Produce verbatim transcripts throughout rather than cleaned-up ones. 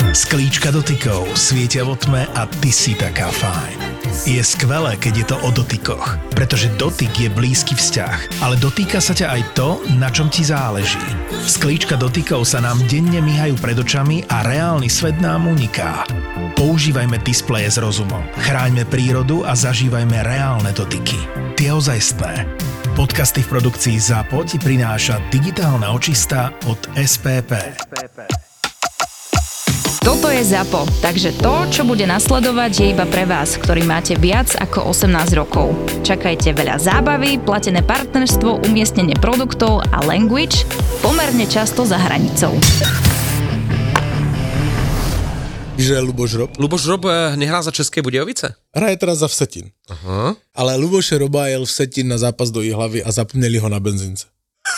Sklíčka dotykov svietia vo tme a ty si taká fajn. Je skvelé, keď je to o dotykoch, pretože dotyk je blízky vzťah, ale dotýka sa ťa aj to, na čom ti záleží. Sklíčka dotykov sa nám denne myhajú pred očami a reálny svet nám uniká. Používajme displeje s rozumom, chráňme prírodu a zažívajme reálne dotyky. Tie ozajstné. Podcasty v produkcii ZAPO ti prináša digitálna očista od es pé pé. Toto je ZAPO, takže to, čo bude nasledovať, je iba pre vás, ktorí máte viac ako osemnásť rokov. Čakajte veľa zábavy, platené partnerstvo, umiestnenie produktov a language pomerne často za hranicou. Že Luboš Rob? Luboš Rob nehrá za České Budějovice? Hraje teraz za Vsetín. Aha. Ale Luboše Roba jel Vsetín na zápas do Jihlavy a zapomněli ho na benzínce.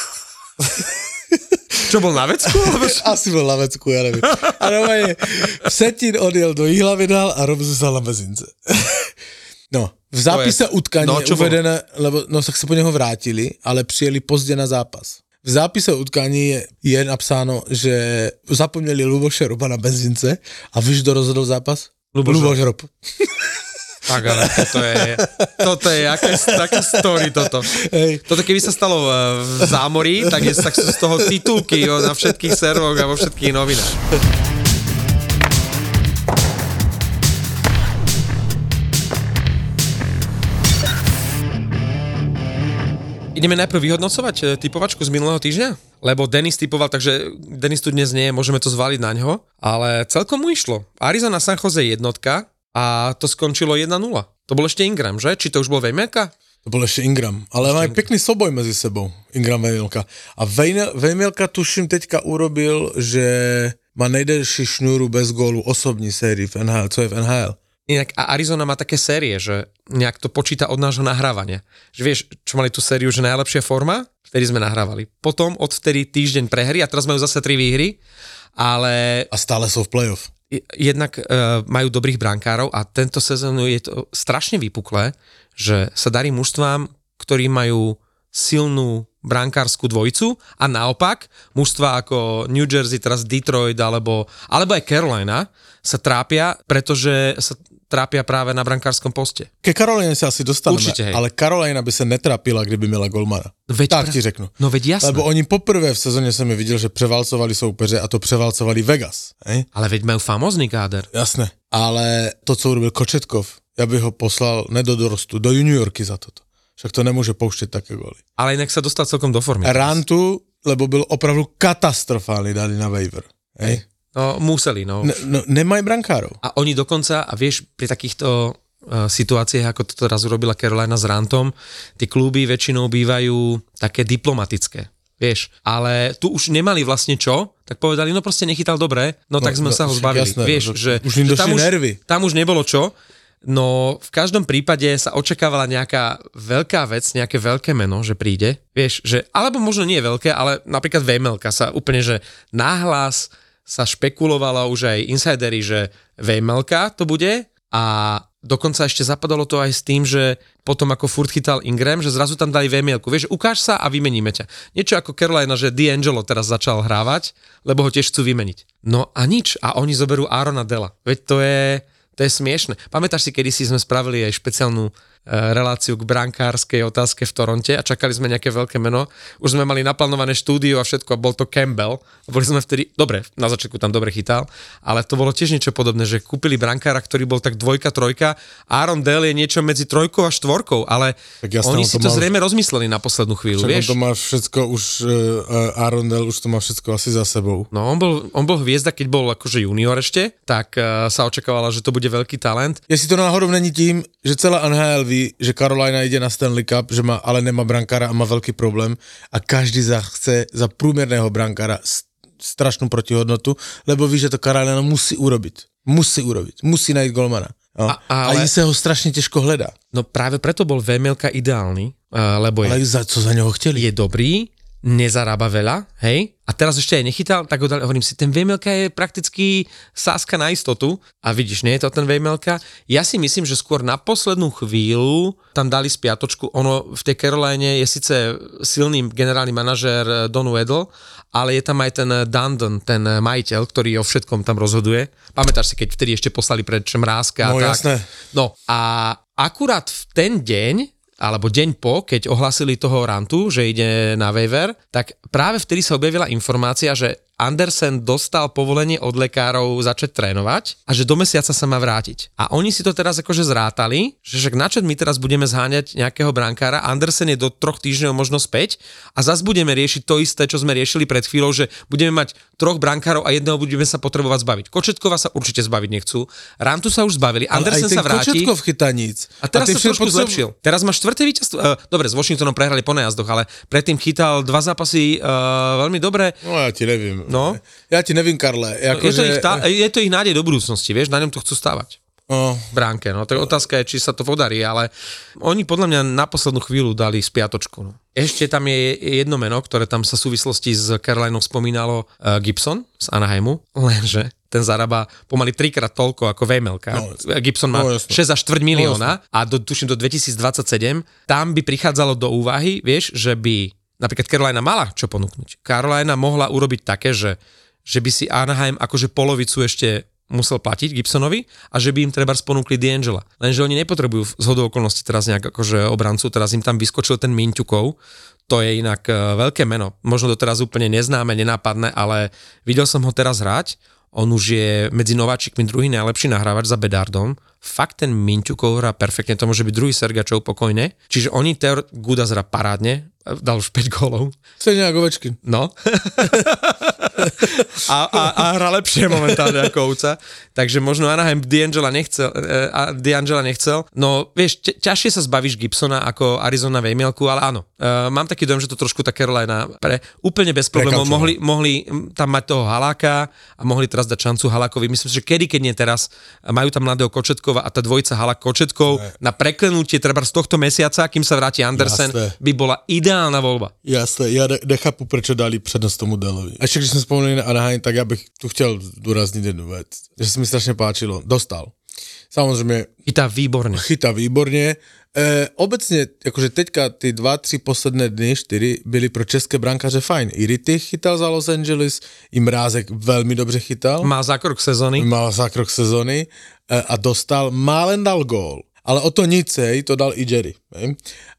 Čo, bol na vecku? Asi bol na vecku, ja neviem. A normálne Vsetín odjel do Jihlavy dal a Rob zostal na benzínce. No, v zápise utkania no, je uvedené, lebo no, tak sa po neho vrátili, ale přijeli pozdě na zápas. V zápise utkání je, je napsáno, že zapomněli Luboše Roba na benzínce a víš, kdo rozhodol zápas? Luboš, Luboš Rob. Tak ale toto je, toto je, aké, aké story toto. Hej. Toto keby sa stalo v zámorí, tak, je, tak sú z toho titulky na všetkých servoch a vo všetkých novinách. Ideme najprv vyhodnocovať typovačku z minulého týždňa? Lebo Denis typoval, takže Denis tu dnes nie je, môžeme to zvaliť na ňo, ale celkom mu išlo. Arizona San Jose jednotka a to skončilo jedna nula. To bol ešte Ingram, že? Či to už bol Vejmelka? To bol ešte Ingram, ale majú pekný soboj medzi sebou, Ingram Vejmelka. A Vejmelka tuším teďka urobil, že má nejdelší šnúru bez gólu osobní sérii v en há el, co je v en há el. Inak a Arizona má také série, že nejak to počíta od nášho nahrávania. Že vieš, čo mali tú sériu, že najlepšia forma, vtedy sme nahrávali. Potom odvtedy týždeň prehry a teraz majú zase tri výhry, ale... A stále sú v play-off. Jednak uh, majú dobrých brankárov a tento sezónu je to strašne vypuklé, že sa darí mužstvám, ktorí majú silnú brankárskú dvojicu a naopak mužstva ako New Jersey, teraz Detroit alebo, alebo aj Carolina sa trápia, pretože sa trápia práve na brankárskom poste. Ke Caroline sa asi dostaneme, určite, ale Carolina by sa netrápila, kdyby měla golmana. Veď tak pra... ti řeknu. No veď jasné. Lebo oni poprvé v sezóne som je videl, že prevalcovali soupeře a to prevalcovali Vegas. Hej? Ale veď majú famózny káder. Jasné. Ale to, co urobil Kočetkov, ja bych ho poslal ne do dorostu, do juniorky za toto. Však to nemôže pouštět také góly. Ale inak sa dostal celkom do formy. Rantu, lebo byl opravdu katastrofálny, dali na waiver. Hej? No, museli, no. Ne, no. Nemajú brankárov. A oni dokonca, a vieš, pri takýchto uh, situáciách, ako to teraz urobila Carolina s Rantom, tie kluby väčšinou bývajú také diplomatické. Vieš, ale tu už nemali vlastne čo, tak povedali, no proste nechytal dobre, no, no tak sme no, sa ho zbavili. Jasné, vieš, že, už im že tam, už, nervy. tam už nebolo čo. No v každom prípade sa očakávala nejaká veľká vec, nejaké veľké meno, že príde, vieš, že, alebo možno nie veľké, ale napríklad Vejmelka sa úplne, že nahlas sa špekulovalo už aj insidery, že Vejmelka to bude a dokonca ešte zapadalo to aj s tým, že potom ako furt chytal Ingram, že zrazu tam dali Vejmelku, vieš, ukáž sa a vymeníme ťa. Niečo ako Carolina, že D'Angelo teraz začal hrávať, lebo ho tiež chcú vymeniť. No a nič, a oni zoberú Aarona Della, veď to je... To je smiešne. Pamätáš si, kedysi sme spravili aj špeciálnu e, reláciu k brankárskej otázke v Toronte a čakali sme nejaké veľké meno. Už sme mali naplánované štúdio a všetko a bol to Campbell. Boli sme vtedy, dobre, na začiatku tam dobre chytal, ale to bolo tiež niečo podobné, že kúpili brankára, ktorý bol tak dvojka, trojka. Aaron Dell je niečo medzi trojkou a štvorkou, ale jasne, oni si to, to zrejme už... rozmysleli na poslednú chvíľu, vieš? On to má všetko už, uh, Aaron Dell už to má všetko asi za sebou. No, on bol, on bol hviezda, keď bol akože junior ešte, tak uh, sa očakávala, že to bude veľký talent. Jestli to náhodou není tím, že celá en há el ví, že Carolina ide na Stanley Cup, že má, ale nemá brankára a má veľký problém a každý za chce za průměrného brankára strašnú protihodnotu, lebo ví, že to Carolina musí urobiť. Musí urobiť. Musí najít golmana. No. A, ale... a sa ho strašne ťažko hledá. No práve preto bol Vejmelka ideálny, lebo ale je, za, co za neho chceli? Je dobrý, nezarába veľa, hej, a teraz ešte aj nechytal, tak ho dali, hovorím si, ten Vejmelka je prakticky sáska na istotu a vidíš, nie je to ten Vejmelka. Ja si myslím, že skôr na poslednú chvíľu tam dali spiatočku, ono v tej Caroline je síce silný generálny manažér Don Weddle, ale je tam aj ten Dundon, ten majiteľ, ktorý o všetkom tam rozhoduje. Pamätáš si, keď vtedy ešte poslali preč Mrázka a no, tak. Jasné. No a akurát v ten deň, alebo deň po, keď ohlasili toho Rantu, že ide na waiver, tak práve vtedy sa objavila informácia, že Andersen dostal povolenie od lekárov začať trénovať a že do mesiaca sa má vrátiť. A oni si to teraz akože zrátali, že však načo my teraz budeme zháňať nejakého brankára, Andersen je do troch týždňov možno späť a zase budeme riešiť to isté, čo sme riešili pred chvíľou, že budeme mať troch brankárov a jedného budeme sa potrebovať zbaviť. Kočetkova sa určite zbaviť nechcú, Rantu sa už zbavili, Andersen sa vráti. Kočetkov chytá nic. A teraz a sa trošku potrebu... zlepšil. Teraz má štvrté víťazstvo. Uh, dobre, s Washingtonom prehrali po najazdoch, ale predtým chytal dva zápasy uh, veľmi dobre. No ja ti neviem. No. Ja ti nevím, Karle. Ako je, to že... ich tá, je to ich nádej do budúcnosti, vieš, na ňom to chcú stávať. Oh. Bránke, no. Tak otázka je, či sa to podarí, ale oni podľa mňa na poslednú chvíľu dali spiatočku. No. Ešte tam je jedno meno, ktoré tam sa v súvislosti s Carolinou spomínalo, uh, Gibson z Anaheimu, lenže ten zarába pomaly trikrát toľko ako Vejmelka. No, Gibson má no, šesť až štvrť milióna no, a do, tuším do dvetisícdvadsaťsedem tam by prichádzalo do úvahy, vieš, že by napríklad Carolina mala čo ponúknuť. Carolina mohla urobiť také, že, že by si Anaheim akože polovicu ešte musel platiť Gibsonovi a že by im treba sponúkli DeAngela. Lenže oni nepotrebujú zhodou okolností teraz nejak akože obrancu, teraz im tam vyskočil ten Minťukov, to je inak veľké meno. Možno doteraz úplne neznáme, nenápadné, ale videl som ho teraz hrať. On už je medzi nováčikmi druhý najlepší nahrávač za Bedardom. Fakt ten Minťukov hrá perfektne, to môže byť druhý Sergačov pokojne. Čiže oni Teor Gudas hrá parádne, dal už päť gólov. Stejne ako Ovečkin. No. a, a, a hrá lepšie momentálne ako Ovca. Takže možno Anaheim DeAngela nechcel, uh, DeAngela nechcel. No vieš, ťažšie sa zbavíš Gibsona ako Arizona Vejmielku, ale áno. Uh, mám taký dojem, že to trošku tá Carolina pre úplne bez problémov mohli, mohli tam mať toho Haláka a mohli teraz dať šancu Halákovi. Myslím si, že kedy, keď nie teraz, majú tam mladého Kočetkova a tá dvojica Halák Kočetkov ne. Na preklenutie treba z tohto mesiaca, kým sa vráti Andersen, Jasne. By bola ideálna voľba. Jasné, ja ne, nechápu, prečo dali prednosť tomu Delovi. A ešte když sme spomenuli na Anaheim, tak ja bych tu chtěl zdôrazniť jednu vec, že sa mi strašne páčilo. Dostal. Samozrejme. Chytá výborne. Chytá výborne. E, obecně, jakože teďka ty dva, tři posledné dny, čtyři, byly pro české brankáře fajn. I Rittich chytal za Los Angeles, i Mrázek velmi dobře chytal. Má zákrok sezóny. Má zákrok sezóny e, a dostal, málen dal gól. Ale o to nic, hej, to dal i Jerry. Hej.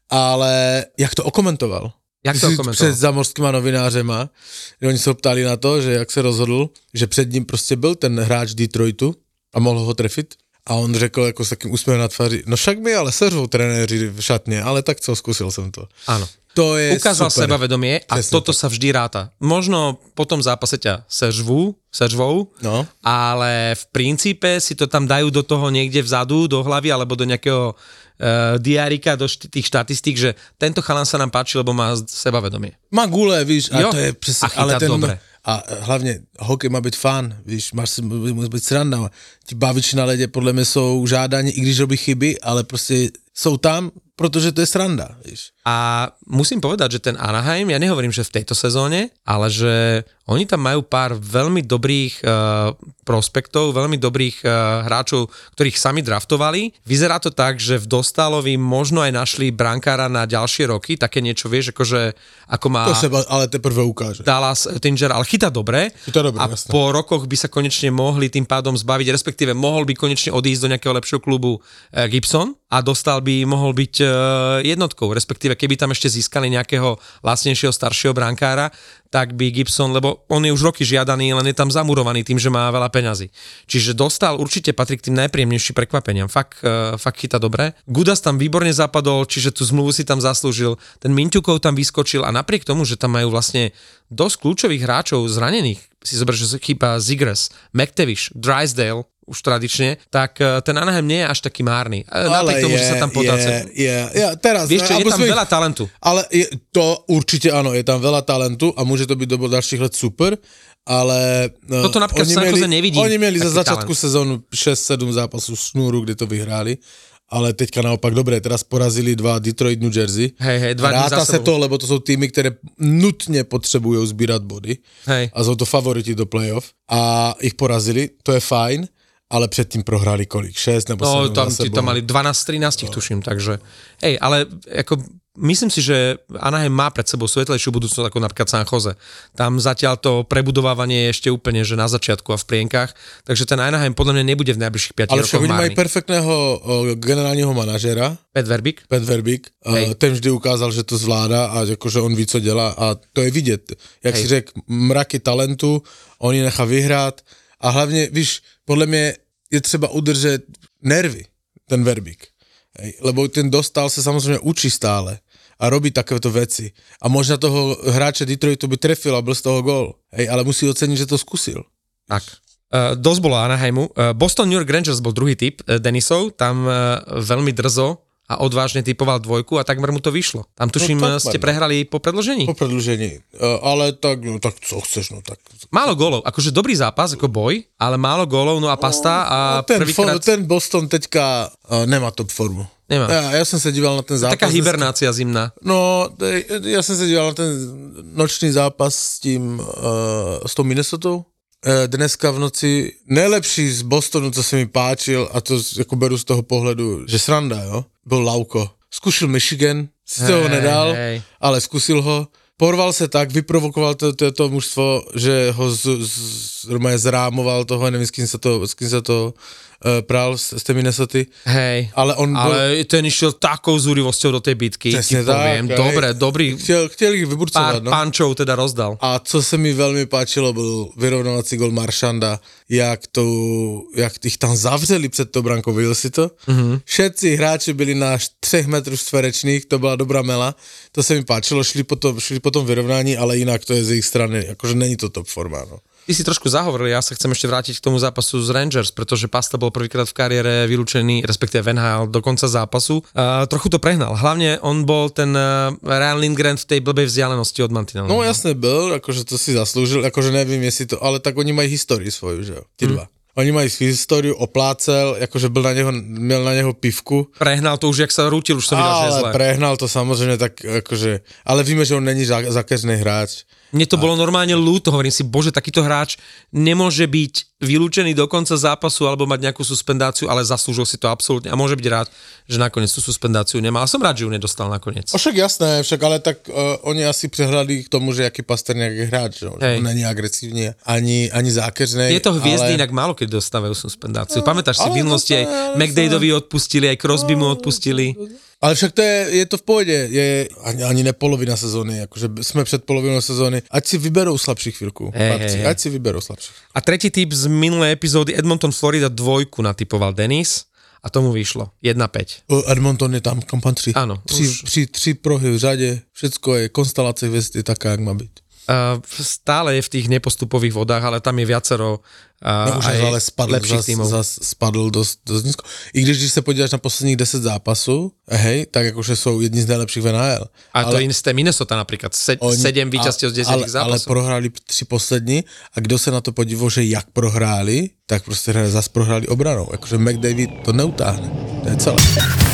Ale jak to okomentoval? Jak to okomentoval? Před zamorskýma novinářema, oni se ho ptali na to, že jak se rozhodl, že před ním prostě byl ten hráč Detroitu a mohl ho trefit. A on řekl jako s takým úsměvem na tváři, no však mi ale seřvou trenéři v šatně, ale tak co, zkusil jsem to. Áno. To je ukázal super. sebavedomie a Presne toto tak. Sa vždy ráta. Možno po tom zápase ťa sežvú, sežvou, no. Ale v princípe si to tam dajú do toho niekde vzadu, do hlavy alebo do nejakého uh, diárika, do št- tých štatistík, že tento chalan sa nám páči, lebo má sebavedomie. Má gule, víš, a jo. to je přesně, ale ten... dobre. A hlavně hokej má být fun, víš, máš si, může být sranda. Ti baviči na ledě podle mě jsou žádáni, i když robí chyby, ale prostě jsou tam, protože to je sranda, víš. A musím povedať, že ten Anaheim, ja nehovorím, že v tejto sezóne, ale že oni tam majú pár veľmi dobrých uh, prospektov, veľmi dobrých uh, hráčov, ktorých sami draftovali. Vyzerá to tak, že v Dostálovi možno aj našli brankára na ďalšie roky, také niečo, vieš, akože ako má... To sa ale teprve ukáže. Dallas Tinger, ale chytá dobre. Chytá dobre, a jasné. po rokoch by sa konečne mohli tým pádom zbaviť, respektíve mohol by konečne odísť do nejakého lepšieho klubu uh, Gibson a Dostal by mohol byť uh, jednotkou, respektíve keby tam ešte získali nejakého lacnejšieho staršieho brankára, tak by Gibson, lebo on je už roky žiadaný, len je tam zamurovaný tým, že má veľa peňazí. Čiže Dostal určite patrí k tým najpríjemnejším prekvapeniam. Fakt, uh, fakt chytá dobre. Gudas tam výborne zapadol, čiže tú zmluvu si tam zaslúžil. Ten Minťukov tam vyskočil a napriek tomu, že tam majú vlastne dosť kľúčových hráčov zranených, si zober, že chýba Zegras, McTavish, Drysdale, už tradične, tak ten Anaheim nie je až taký márny. Napriek tomu, je, že sa tam podáce. Je, je, je, teraz. Vieš čo, je tam ich... veľa talentu. Ale je, to určite áno, je tam veľa talentu a môže to byť do ďalších let super, ale... Toto napríklad v San Jose nevidím. Oni mieli za začiatku sezónu šesť sedem zápasov šnúru, kde to vyhrali. Ale teďka naopak, dobre, teraz porazili dva Detroit, New Jersey. Hej, hej, dva dní Ráta sa to, lebo to sú týmy, ktoré nutne potrebujú zbírať body. Hej. A sú to favoriti do playoff. A ich porazili, to je fajn. ale předtím prohráli kolik? šesť nebo no, sedem tam, za sebou. tam mali dvanásť trinásť, no. Tuším, takže hej, ale ako myslím si, že Anaheim má pred sebou svetlejšiu budúcnosť ako napríklad San Jose. Tam zatiaľ to prebudovávanie je ešte úplne že na začiatku a v plienkach, takže ten Anaheim podľa mňa nebude v najbližších piatich rokoch márny. Ale však oni majú perfektného o, generálneho manažera. Pat Verbeek. Pat Verbeek. Uh, ten vždy ukázal, že to zvládá a akože on ví, co dělá a to je vidět. Jak Hej. si řekl, mraky talentu, on ji nechá vyhrát a hlavně, víš, podle mě je třeba udržet nervy, ten Verbeek. Hej, lebo ten dostal se samozřejmě učí stále a robí takéto veci. A možná toho hráče Detroitu by trefil a byl z toho gól. Hej, ale musí oceniť, že to skúsil. Tak. Uh, dosť bolo Anaheimu. Uh, Boston New York Rangers bol druhý typ uh, Denisov. Tam uh, veľmi drzo a odvážne typoval dvojku a takmer mu to vyšlo. Tam tuším, no, ste prehrali po predĺžení? Po predĺžení. Uh, ale tak, no tak co chceš, no tak. Málo gólov. Akože dobrý zápas, ako boj, ale málo gólov, no a pasta a no, ten, prvýkrát... ten Boston teďka uh, nemá top formu. Nemá. Ja, ja som sa díval na ten zápas. Taká hibernácia zimná. No, ja som sa díval na ten nočný zápas s tým, uh, s tou Minnesotou. Uh, dneska v noci najlepší z Bostonu, co sa mi páčil, a to ako beru z toho pohľadu, že sranda, jo, bol Lauko. Skúšil Michigan, si hey, toho nedal, hey. ale skúsil ho. Porval sa tak, vyprovokoval to, to, to mužstvo, že ho z, z, zrámoval toho, neviem, s kým sa to, s kým sa to uh, pral z, z tej Minnesoty. Hej, ale, on ale bol... ten išiel takou zúrivosťou do tej bitky, ti poviem. Tak, dobre, hej. dobrý. Chtěl, chtěl ich vyburcovať, no. Pár pančov teda rozdal. A co sa mi veľmi páčilo, bol vyrovnávací gol Maršanda, jak, to, jak ich tam zavřeli před tou brankou, videl si to? Mm-hmm. Všetci hráči byli na třech metrů čtverečných, to byla dobrá mela, to sa mi páčilo, šli potom, šli potom vyrovnání, ale inak to je z ich strany, akože není to top forma, no. Ty si trošku zahovoril, ja sa chcem ešte vrátiť k tomu zápasu z Rangers, pretože Pasta bol prvýkrát v kariére vylúčený, respektíve v en há el do konca zápasu. Uh, trochu to prehnal. Hlavne on bol ten uh, Ryan Lindgren v tej blbej vzdialenosti od mantinelu. No jasne byl, akože to si zaslúžil, akože neviem, jestli to, ale tak oni majú históriu svoju, že jo, tí dva. Hmm. Oni majú históriu, oplácel, akože byl na neho, měl na neho pivku. Prehnal to už, jak sa rútil, už to videl, že je zle. Ale prehnal to samozrejme tak, akože, ale víme, že on není zákeřný hráč. Mne to a... bolo normálne ľúto, hovorím si, bože, takýto hráč nemôže byť vylúčený do konca zápasu alebo mať nejakú suspendáciu, ale zaslúžil si to absolútne a môže byť rád, že nakoniec tú suspendáciu nemá. A som rád, že ju nedostal nakoniec. O však jasné, však ale tak uh, oni asi prehľadli k tomu, že aký Pastrňák je hráč, že on není agresívny, ani, ani zákeřnej. Je to hviezdy, ale... inak málo keď dostávajú suspendáciu. No, Pamätáš si, v minulosti aj McDadovi odpustili, aj Crosby mu odpustili. Ale však to je, je to v pohode, je ani, ani ne polovina sezóny, akože sme před polovinou sezóny, ať si vyberou slabších chvíľku, hey, hey, ať si vyberou slabších. A tretí tip z minulej epizódy, Edmonton Florida dvojku natypoval Denis a tomu vyšlo jedna päť. Edmonton je tam, kam patří. Áno. Tři, už... tři, tři prohy v řade, všetko je, konstelácia hviezd je taká, jak má byť. Uh, stále je v tých nepostupových vodách, ale tam je viacero uh, no, už aj ale spadl, lepších zas, tímov. Zas spadl dosť, dosť nízko. I když, když sa podívaš na posledních deset zápasů, hej, tak akože sú jedni z najlepších v en há el. A ale, to je iné Minnesota napríklad, Se, oni, sedem víťazstiev z desať zápasov. Ale prohráli tři poslední a kdo sa na to podíval, že jak prohráli, tak proste zase prohráli obranou. Akože McDavid to neutáhne. To je celé.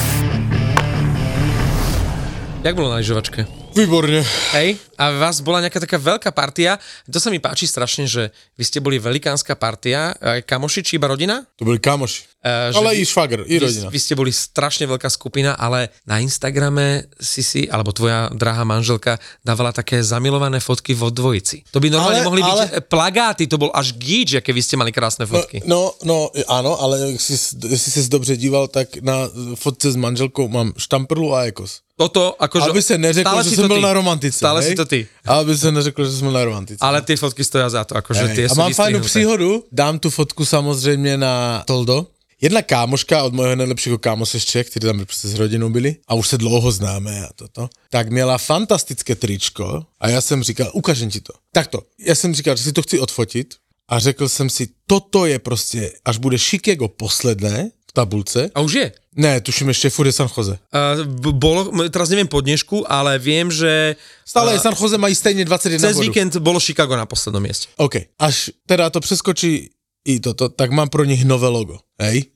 Jak bolo na lyžovačke? Výborne. Hej, a vás bola nejaká taká veľká partia. To sa mi páči strašne, že vy ste boli velikánska partia. Kamoši či iba rodina? To boli kamoši. Uh, ale vy, i švagr, i rodina. Vy, vy ste boli strašne veľká skupina, ale na Instagrame si si, alebo tvoja drahá manželka dávala také zamilované fotky vo dvojici. To by normálne ale, mohli ale... byť plagáty, to bol až gíč, aké vy ste mali krásne fotky. No, no, no áno, ale si, si si dobře díval, tak na fotce s manželkou mám Štamprlu a Ekos. Toto, akože... Aby sa neřeklo, že som bol na romantice. Stále hej? si to ty. Aby sa neřeklo, že som bol na romantice. Ale tie fotky stoja za to, akože tie a sú mám fajnú vystrihnuté. příhodu, dám tu fotku samozřejmě na Toldo. Jedna kámoška od mojho nejlepšího kámoše z Čech, ktorí tam prostě s rodinou byli a už se dlouho známe a toto, tak měla fantastické tričko a já jsem říkal, ukážem ti to. Takto, já jsem říkal, že si to chci odfotit a řekl jsem si, toto je prostě, až bude Chicago posledné v tabulce. A už je? Ne, tuším ešte furt je San Jose. Uh, bolo, teraz neviem po dnešku, ale viem, že... Stále uh, San Jose mají stejne dvadsaťjeden cez bodů. víkend bolo Chicago na poslednom mieste. OK, až teda to preskočí i toto, tak mám pro nich nové logo, hej?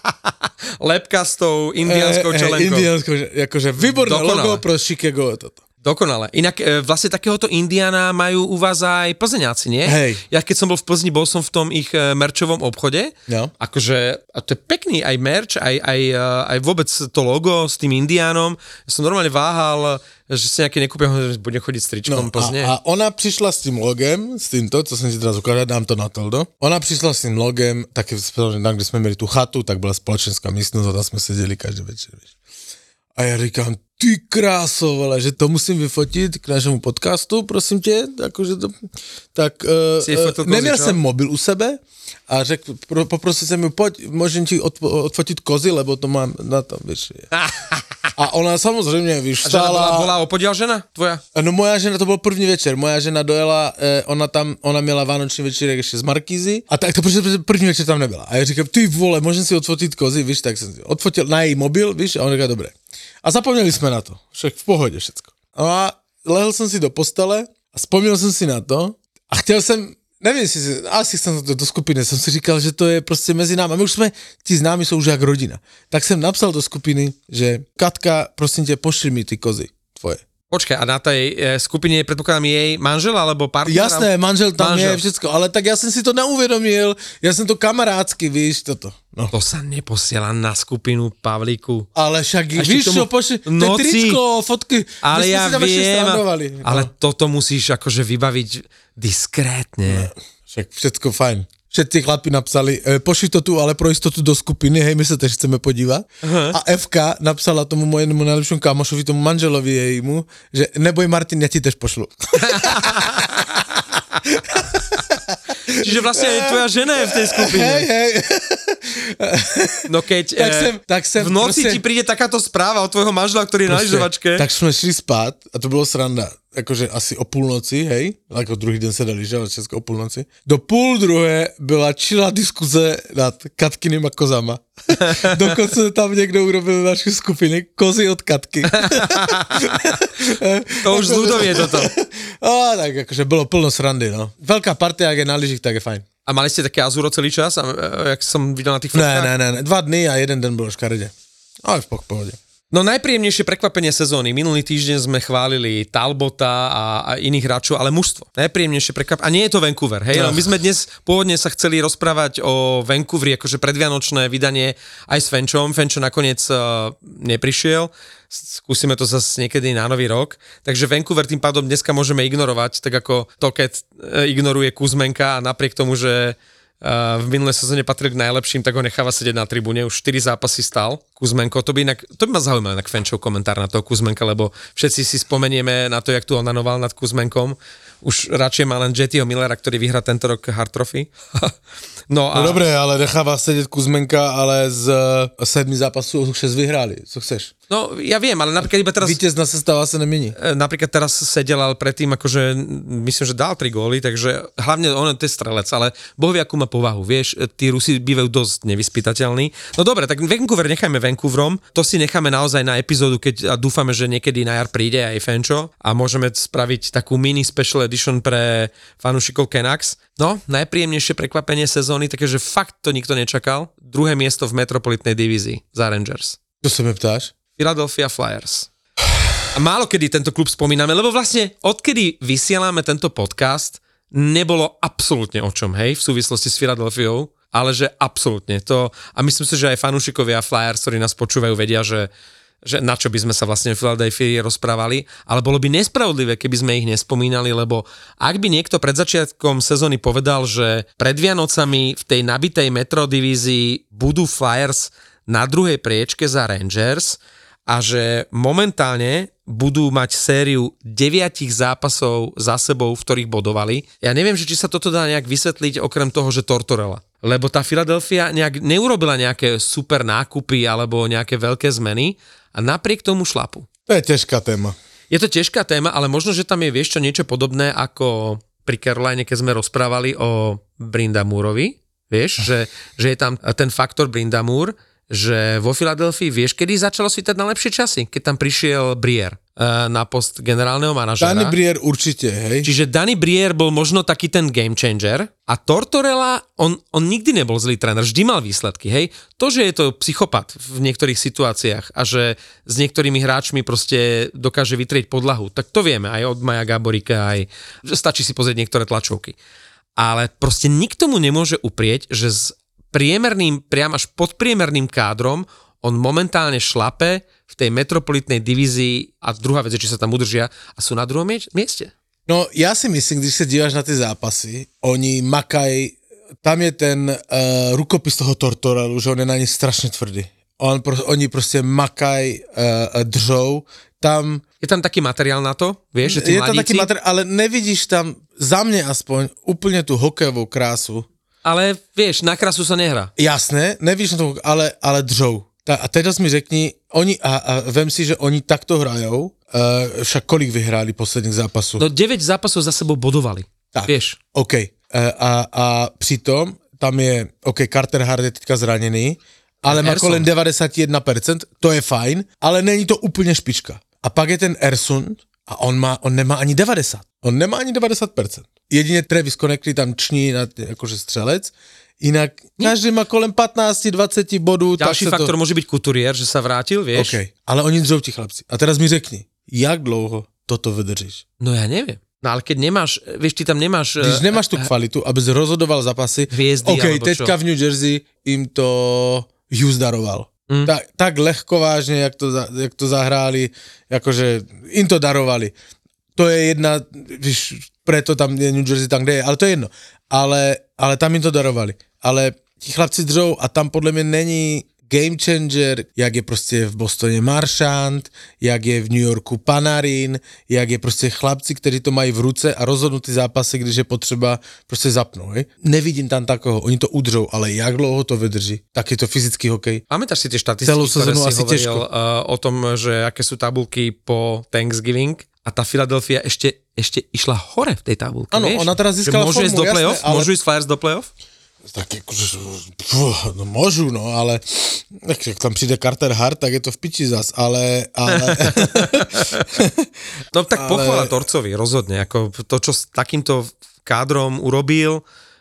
Lepka s tou indiánskou e, čelenkou. Indiánskou, akože výborné Dokonale. Logo pro Chicago toto. Dokonale. Inak e, vlastne takéhoto Indiana majú u vás aj Plzeňáci, nie? Hej. Ja keď som bol v Plzni, bol som v tom ich e, merčovom obchode. No. Akože, a to je pekný aj merč, aj, aj, e, aj vôbec to logo s tým Indiánom. Ja som normálne váhal, že si nejaké nekúpim, že budem chodiť s tričkom no, Plzne. A, a ona prišla s tým logem, s týmto, co som si teraz ukázal, dám to na toldo. Ona prišla s tým logem, také, tam, kde sme mali tú chatu, tak bola spoločenská místnosť a tam sme sedeli každý večer. Vieš. A ja říkám, ty kráso, vole, že to musím vyfotit k našemu podcastu, prosím tě, akože to, tak uh, uh, neměl jsem mobil u sebe a řekl, pro, poprosil jsem ju, pojď, môžem ti odpo, odfotit kozy, lebo to mám na tom, víš. A ona samozřejmě, víš, stála. A bola, bola opodiaľ žena tvoja? No moja žena, to bol první večer, moja žena dojela, eh, ona tam, ona měla vánoční večírek ještě z Markízy a tak to protože první večer tam nebyla. A ja říkám, ty vole, môžem si odfotit kozy, víš, tak jsem si odfotil na její mobil, víš, a on říká, dobré. A zapomněli jsme na to, však v pohodě všecko. A lehl jsem si do postele a vzpomněl jsem si na to a chtěl jsem, nevím, si, asi jsem to do skupiny, jsem si říkal, že to je prostě mezi námi. A my už jsme, ti známi jsou už jak rodina. Tak jsem napsal do skupiny, že Katka, prosím tě, pošli mi ty kozy tvoje. Počkaj, a na tej e, skupine predpokladám jej manžel alebo partner? Jasné, manžel tam manžel. Je všetko, ale tak ja som si to neuvedomil, ja som to kamarátsky, víš, toto. No. To sa neposiela na skupinu Pavlíku. Ale však, víš čo, pošli, to tričko, fotky, ale ja viem, no. Ale toto musíš akože vybaviť diskrétne. No, však všetko fajn. Všetci chlapi napsali, e, pošli to tu, ale pro istotu do skupiny, hej, my sa tež chceme podívať. Uh-huh. A ef ká napsala tomu mojemu najlepšímu kamošovi, tomu manželovi jejmu, že neboj Martin, ja ti tež pošlu. Čiže vlastne aj tvoja žena je v tej skupine. Hej, hej. No keď tak sem, tak sem, v noci proste, ti príde takáto správa od tvojho manžela, ktorý je na lyžovačke. Tak sme šli spát a to bolo sranda. Akože asi o půlnoci, hej, ako druhý den se dali lyžovat, česko o půlnoci. Do půl druhé byla čilá diskuze nad Katkynýma kozama. Dokonce tam někdo urobil naši skupiny kozy od Katky. To už z ľudovie toto. A tak akože bylo plno srandy, no. Veľká partia, ak je na lyžích, tak je fajn. A mali ste také azúro celý čas, a, jak som videl na tých fotkách? Ne, ne, ne, dva dny a jeden den bolo škaredě. Ale v pohode. No najpríjemnejšie prekvapenie sezóny. Minulý týždeň sme chválili Talbota a, a iných hráčov, ale mužstvo. Najpríjemnejšie prekvapenie. A nie je to Vancouver, hej? No. My sme dnes pôvodne sa chceli rozprávať o Vancouveri, akože predvianočné vydanie aj s Fenčom. Fenčo nakoniec uh, neprišiel. Skúsime to zase niekedy na nový rok. Takže Vancouver tým pádom dneska môžeme ignorovať, tak ako Toket ignoruje Kuzmenka a napriek tomu, že Uh, v minulej sezóne patril k najlepším, tak ho necháva sedieť na tribúne, už štyri zápasy stal Kuzmenko, to by inak, to by ma zaujímal inak Fenčov komentár na toho Kuzmenka, lebo všetci si spomenieme na to, jak tu onanoval nad Kuzmenkom, už radšej má len Jettyho Millera, ktorý vyhrá tento rok Hart Trophy. no, a... no dobré, ale necháva sedieť Kuzmenka, ale z sedmi zápasů šesť vyhráli, co chceš? No, ja viem, ale napríklad iba teraz... Vítězná sestava sa nemení. Napríklad teraz sedel, ale predtým akože, myslím, že dal tri góly, takže hlavne on je strelec, ale Boh vie, akú má povahu, vieš, tí Rusi bývajú dosť nevyspytateľní. No dobre, tak Vancouver nechajme Vancouverom, to si necháme naozaj na epizódu, keď a dúfame, že niekedy na jar príde aj Fenčo a môžeme spraviť takú mini special edition pre fanúšikov Canucks. No, najpríjemnejšie prekvapenie sezóny, takže fakt to nikto nečakal. Druhé miesto v metropolitnej divízii za Rangers. Čo sa mi ptáš? Philadelphia Flyers. A málo kedy tento klub spomíname, lebo vlastne odkedy vysielame tento podcast, nebolo absolútne o čom, hej, v súvislosti s Philadelphiou, ale že absolútne to, a myslím si, že aj fanúšikovia Flyers, ktorí nás počúvajú, vedia, že, že na čo by sme sa vlastne v Philadelphii rozprávali, ale bolo by nespravodlivé, keby sme ich nespomínali, lebo ak by niekto pred začiatkom sezóny povedal, že pred Vianocami v tej nabitej metrodivízii budú Flyers na druhej priečke za Rangers a že momentálne budú mať sériu deviatich zápasov za sebou, v ktorých bodovali. Ja neviem, že či sa toto dá nejak vysvetliť okrem toho, že Tortorella. Lebo tá Philadelphia nejak neurobila nejaké super nákupy alebo nejaké veľké zmeny a napriek tomu šlapu. To je ťažká téma. Je to ťažká téma, ale možno, že tam je, vieš čo, niečo podobné ako pri Caroline, keď sme rozprávali o Brindamourovi. Vieš, že, že je tam ten faktor Brindamour, že vo Filadelfii, vieš, kedy začalo svítať na lepšie časy? Keď tam prišiel Briere. na post generálneho manažera. Danny Briere určite, hej. Čiže Danny Briere bol možno taký ten game changer a Tortorella, on, on nikdy nebol zlý tréner, vždy mal výsledky, hej. To, že je to psychopat v niektorých situáciách a že s niektorými hráčmi proste dokáže vytrieť podlahu, tak to vieme aj od Maja Gaborika, aj že stačí si pozrieť niektoré tlačovky. Ale proste nikto mu nemôže uprieť, že s priemerným, priam až podpriemerným kádrom on momentálne šlape v tej metropolitnej divízii a druhá vec je, či sa tam udržia a sú na druhom mieste. No ja si myslím, když sa díváš na tie zápasy, oni makaj, tam je ten uh, rukopis toho Tortorellu, že on je na ne strašne tvrdý. On, pro, oni proste makaj, uh, držou, tam... Je tam taký materiál na to, vieš, že tí je mladíci... tam taký materiál, ale nevidíš tam, za mňa aspoň, úplne tú hokejovú krásu. Ale vieš, na krásu sa nehrá. Jasné, nevidíš na to, ale, ale držou. A teraz mi řekni, oni, a, a vem si, že oni takto hrajou, uh, však kolik vyhráli posledných zápasov? No deväť zápasov za sebou bodovali, tak, vieš. OK. Uh, a, a přitom tam je, OK, Carter Hart je teďka zranený, ale má kolem deväťdesiatjeden percent, to je fajn, ale není to úplne špička. A pak je ten Ersund a on, má, on nemá ani deväťdesiat. On nemá ani deväťdesiat percent. Jedine Travis Konecny tam ční na, akože střelec, inak každý má kolem pätnásť dvadsať bodů. Ďalší faktor to... môže byť Couturier, že sa vrátil, vieš. OK, ale oni držou ti chlapci. A teraz mi řekni, jak dlouho toto vydržíš? No ja neviem. No ale keď nemáš, vieš, ty tam nemáš... Když nemáš tú kvalitu, aby si rozhodoval zápasy, hviezdy, OK, teďka čo? V New Jersey im to Hughes daroval. Mm. Tak, tak ľahko vážne, jak to, jak to zahráli, akože im to darovali. To je jedna, víš, preto tam je New Jersey tam, kde je, ale to je jedno. Ale, ale tam im to darovali. Ale ti chlapci držou a tam podľa mňa není game changer, jak je proste v Bostone Marchand, jak je v New Yorku Panarin, jak je proste chlapci, ktorí to mají v ruce a rozhodnú ty zápasy, když je potřeba proste zapnú. Hej? Nevidím tam takého, oni to udržou, ale jak dlouho to vydrží, tak je to fyzický hokej. Pamätáš si tie štatistiky, ktoré si hovoril ťažko. o tom, že aké sú tabulky po Thanksgiving a tá Philadelphia ešte, ešte išla hore v tej tabulke. Áno, ona teraz získala formu, do play-off? Jasné, ale... Môžu ísť Flyers do play-off? Tak akože, no môžu, no, ale ak tam príde Carter Hart, tak je to v piči zas, ale... ale... no tak ale... pochvála Torcovi, rozhodne, ako to, čo s takýmto kádrom urobil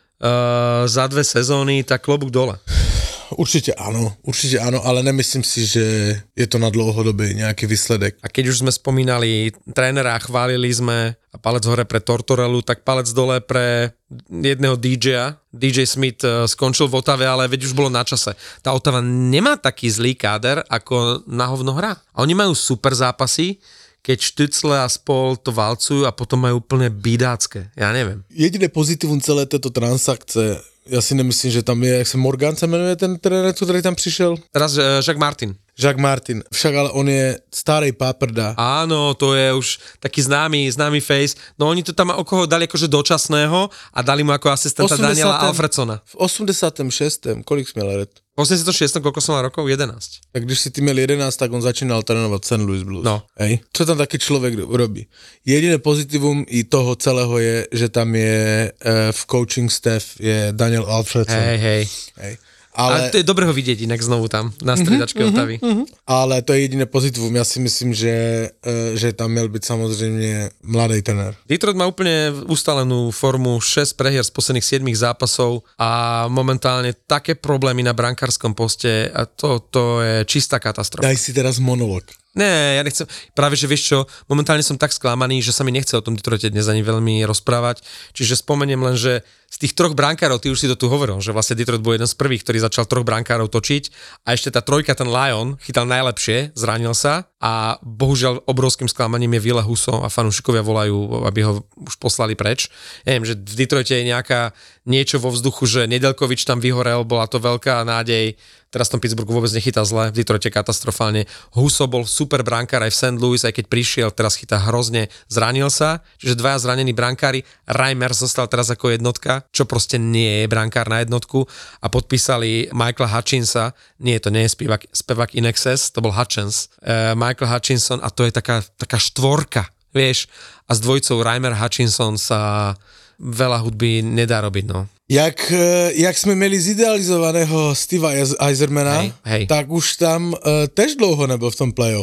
uh, za dve sezóny, tak klobúk dole. Určite áno, určite áno, ale nemyslím si, že je to na dlouhodobý nejaký výsledek. A keď už sme spomínali trénera a chválili sme a palec hore pre Tortorellu, tak palec dole pre jedného dý džeja. dý džej Smith skončil v Otave, ale veď už bolo na čase. Tá Otava nemá taký zlý káder, ako na hovno hrá. A oni majú super zápasy, keď Stützle a spol to valcujú a potom majú úplne bidácké. Ja neviem. Jediné pozitívum celé této transakce, ja si nemyslím, že tam je, jak sa Morgan sa menuje ten tréner, ktorý tam prišiel? Teraz uh, Jacques Martin. Jacques Martin, však ale on je starej páprda. Áno, to je už taký známy, známy face. No oni to tam okolo dali akože dočasného a dali mu ako asistenta Daniela Alfredsona. V osemdesiatom šiestom kolik sme let? V osemdesiatom šiestom koľko som mal rokov? jedenásť. Tak když si ty měl jedenásť, tak on začínal trénovať Saint Louis Blues. No. Hej. Čo tam taký človek robí? Jediné pozitívum i toho celého je, že tam je uh, v coaching staff je Daniel Alfredson. Hej, hej. hej. Ale... A to je dobre ho vidieť inak znovu tam, na striedačke uh-huh, Otavy. Uh-huh. Ale to je jediné pozitívum. Ja si myslím, že, uh, že tam mal byť samozrejme mladý tréner. Detroit má úplne ustalenú formu, šesť prehier z posledných siedmich zápasov a momentálne také problémy na brankárskom poste a to, to je čistá katastrofa. Daj si teraz monolog. Nie, ja nechcem, práve že vieš čo, momentálne som tak sklamaný, že sa mi nechce o tom Detroite dnes ani veľmi rozprávať, čiže spomeniem len, že z tých troch brankárov, ty už si to tu hovoril, že vlastne Detroit bol jeden z prvých, ktorý začal troch brankárov točiť a ešte tá trojka, ten Lion, chytal najlepšie, zranil sa a bohužiaľ obrovským sklamaním je Ville Husso a fanúšikovia volajú, aby ho už poslali preč. Ja neviem, že v Detroite je nejaká niečo vo vzduchu, že Nedeľkovič tam vyhorel, bola to veľká nádej. Teraz v tom Pittsburghu vôbec nechytá zle, v Detroite katastrofálne. Husso bol super brankár aj v Saint Louis, aj keď prišiel, teraz chytá hrozne, zranil sa, čiže dvaja zranení brankári, Reimer zostal teraz ako jednotka, čo proste nie je brankár na jednotku a podpísali Michaela Hutchinsa, nie, to nie je spevák, spevák In Excess, to bol Hutchins, uh, Michael Hutchinson a to je taká, taká štvorka, vieš, a s dvojicou Reimer Hutchinson sa veľa hudby nedá robiť, no. Jak, jak sme mali zidealizovaného Steva Yzermana, hej, hej. tak už tam uh, tež dlouho nebyl v tom playoff.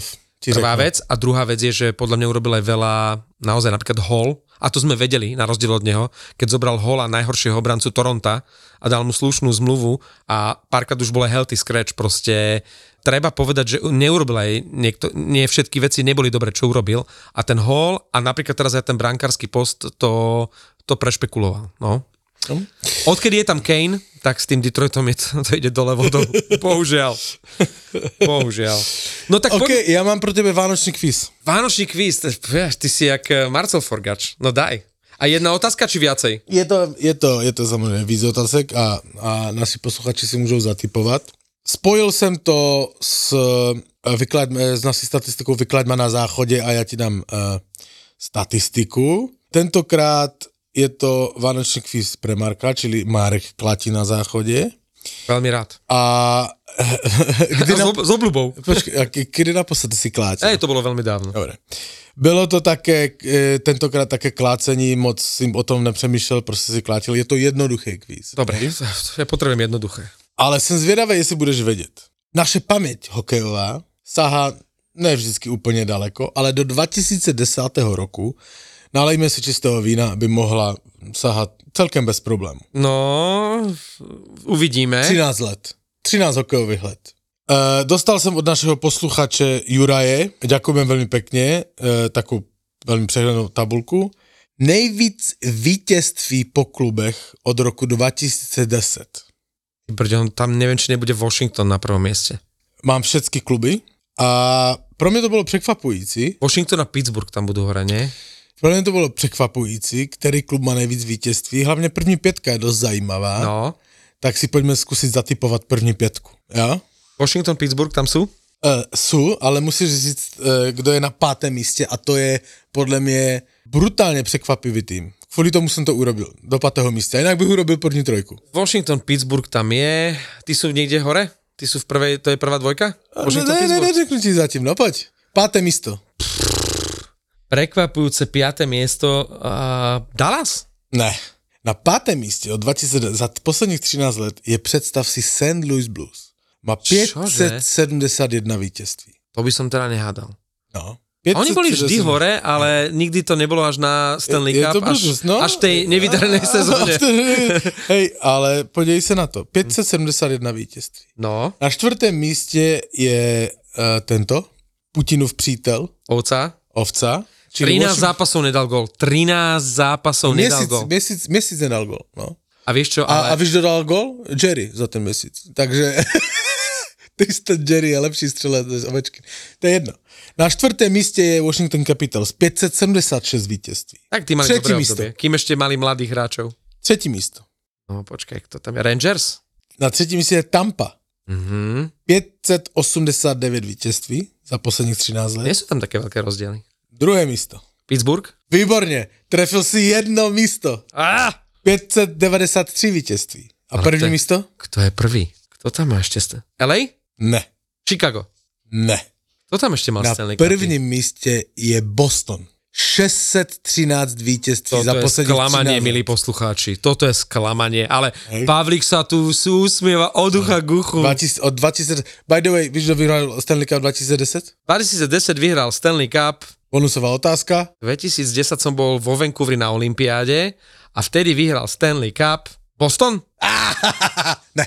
Prvá vec. A druhá vec je, že podľa mňa urobil aj veľa, naozaj napríklad Hall, a to sme vedeli, na rozdiel od neho, keď zobral Halla, najhoršieho obrancu Toronta a dal mu slušnú zmluvu a párkrát už bol aj healthy scratch, proste treba povedať, že neurobil aj niekto, nie všetky veci neboli dobre, čo urobil a ten Hall a napríklad teraz aj ten brankársky post to, to prešpekuloval, no. Odkedy je tam Kane, tak s tým Detroitom je to, to ide dole vodou. Bohužiaľ. Bohužiaľ. No tak OK, poď... ja mám pro tebe vánočný kvíz. Vánočný kvíz, ty si jak Marcel Forgač. No daj. A jedna otázka, či viacej? Je to, je to, je to samozrejme víc otázek a, a naši posluchači si môžou zatypovať. Spojil jsem to s, vyklad, s naší statistikou Vyklaďma na záchodě a já ti dám uh, statistiku. Tentokrát je to vánočný kvíz pre Marka, čili Marek klatí na záchode. Veľmi rád. A kdy na... S obľubou. Počkej, a kedy naposledy si klátil? Ej, to bolo veľmi dávno. Dobre. Bylo to také, tentokrát také klácení, moc jsem o tom nepřemýšlel, prostě si klátil. Je to jednoduchý kvíz. Dobre, ja potrebujem jednoduché. Ale jsem zvědavý, jestli budeš vědět. Naše paměť hokejová sahá ne vždycky úplně daleko, ale do dva tisíce desátého roku nalejme si čistého vína, aby mohla sahat celkem bez problémů. No, uvidíme. třináct let. třináct hokejových let. E, dostal jsem od našeho posluchače Juraje, ďakujem veľmi pekne, e, takú veľmi přehlednou tabulku. Nejvíc vítězství po klubech od roku dva tisíce deset. Brďo, tam neviem, či nebude Washington na prvom mieste. Mám všetky kluby a pro mě to bylo překvapující. Washington a Pittsburgh tam budú hore, nie? Pro mě to bylo překvapující, který klub má nejvíc vítězství. Hlavně první pětka je dost zajímavá. No. Tak si pojďme zkusit zatypovat první pětku. Jo? Washington, Pittsburgh tam sú? Uh, sú, ale musíš říct, uh, kdo je na pátém místě a to je podle mě brutálně překvapivý tým. Kvůli tomu jsem to urobil, do pátého místa. Jinak bych urobil první trojku. Washington, Pittsburgh tam je. Ty sú niekde hore? Ty sú v prvej, to je prvá dvojka? Washington, ne, ne, ne, neřeknu ti zatím, no poď. Páté místo. Prekvapujúce piaté miesto uh, Dallas? Ne. Na pátém místě od dva tisíce za posledních třináct let je, představ si, Saint Louis Blues. Má pět set sedmdesát jedna vítězství. To by som teda nehádal. No. Oni boli vždy hore, ale nikdy to nebolo až na Stanley Cup, až, no? až v tej nevydarenej sezóne. Hej, ale podívej se na to. pět set sedmdesát jedna vítězství. No. Na čtvrtém místě je uh, tento, Putinův přítel. Ovca. Ovca. trinásť zápasov nedal gól. trinásť zápasov nedal gól. Měsíc, měsíc nedal gól, no. A vieš čo, A, ale... a víš, kdo dal gól? Jerry za ten měsíc. Takže... Ty ten Jerry je lepší střelec než Ovečkin. To je jedno. Na čtvrtém místě je Washington Capitals. päť set sedemdesiat šesť vítězství. Tak ty mali Třetí dobré místo. obdobie. Kým ešte mali mladých hráčov. Třetí místo. No počkaj, kto tam je? Rangers? Na třetím místě je Tampa. Mhm. päť set osemdesiat deväť vítězství za posledních třináct let. Nie sú tam také veľké rozdiely. Druhé místo. Pittsburgh? Výborně. Trefil si jedno místo. Ah! päť set devadesát tři vítězství. A Ale první kto je, místo? Kto je prvý? Kto tam má ešte? St- el ej? Ne. Chicago? Ne. Kto tam ešte mal Na Stanley Cup? prvním místě je Boston. šesť set trinásť vítězství Toto za je posledních sklamanie, třináct milí let. poslucháči. Toto je sklamanie, ale Hej. Pavlík sa tu usmieva od ucha k uchu. dvacet, od dvacet, by the way, víš, kdo vyhrál Stanley Cup dva tisíce deset? dvetisícdesať vyhral Stanley Cup. Bonusová otázka. dvetisícdesať som bol vo Vancouveri na olympiáde a vtedy vyhral Stanley Cup. Boston? Ne.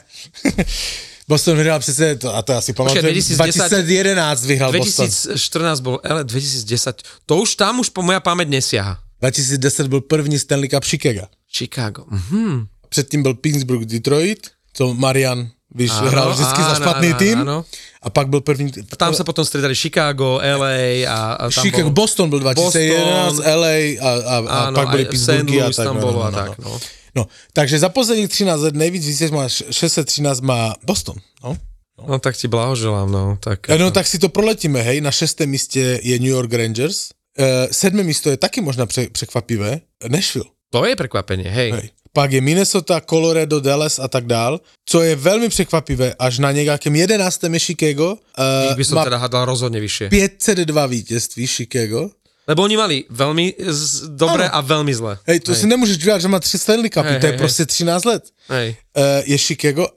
Boston vyhrál přece, to, a to asi pamatujem, dvetisícdesať dva tisíce jedenásť vyhrál Boston. dvetisícštrnásť bol, ale dvetisícdesať, to už tam už po moja pamäť nesiaha. dva tisíce deset byl první Stanley Cup Chicago. Chicago, mhm. Předtým byl Pittsburgh Detroit, co Marian, víš, Áno, hrál vždycky za áno, špatný áno, tým. áno. A pak byl první... Tam sa potom stredali Chicago, el ej a, a tam Chicago, bol... Boston byl dva tisíce jedenásť, el ej a, a, a áno, pak byli aj Pittsburghy a Saint Louis tak. tam No, bolo no, a no, tak, no. no. No, takže za posledních třináct let nejvíc vítěz má šesť set trinásť má Boston. No. No tak ti blahoželám, no. Tak, No tak si to proletíme, hej, na šestém místě je New York Rangers, uh, sedmé místo je taky možná pře- překvapivé, Nashville. To je prekvapenie, hej. hej. Pak je Minnesota, Colorado, Dallas a tak dál, co je velmi překvapivé, až na nějakém jedenáctém je Chicago. Uh, Ich by som teda hádal rozhodne vyššie. päť set dva vítězství Chicago. Lebo oni mali veľmi z- dobré a veľmi zlé. Hej, to hej. si nemůžeš dělat, že má tři Stanley Cupy, Hej, to je hej, prostě třináct let. Hej. Uh, je Chicago a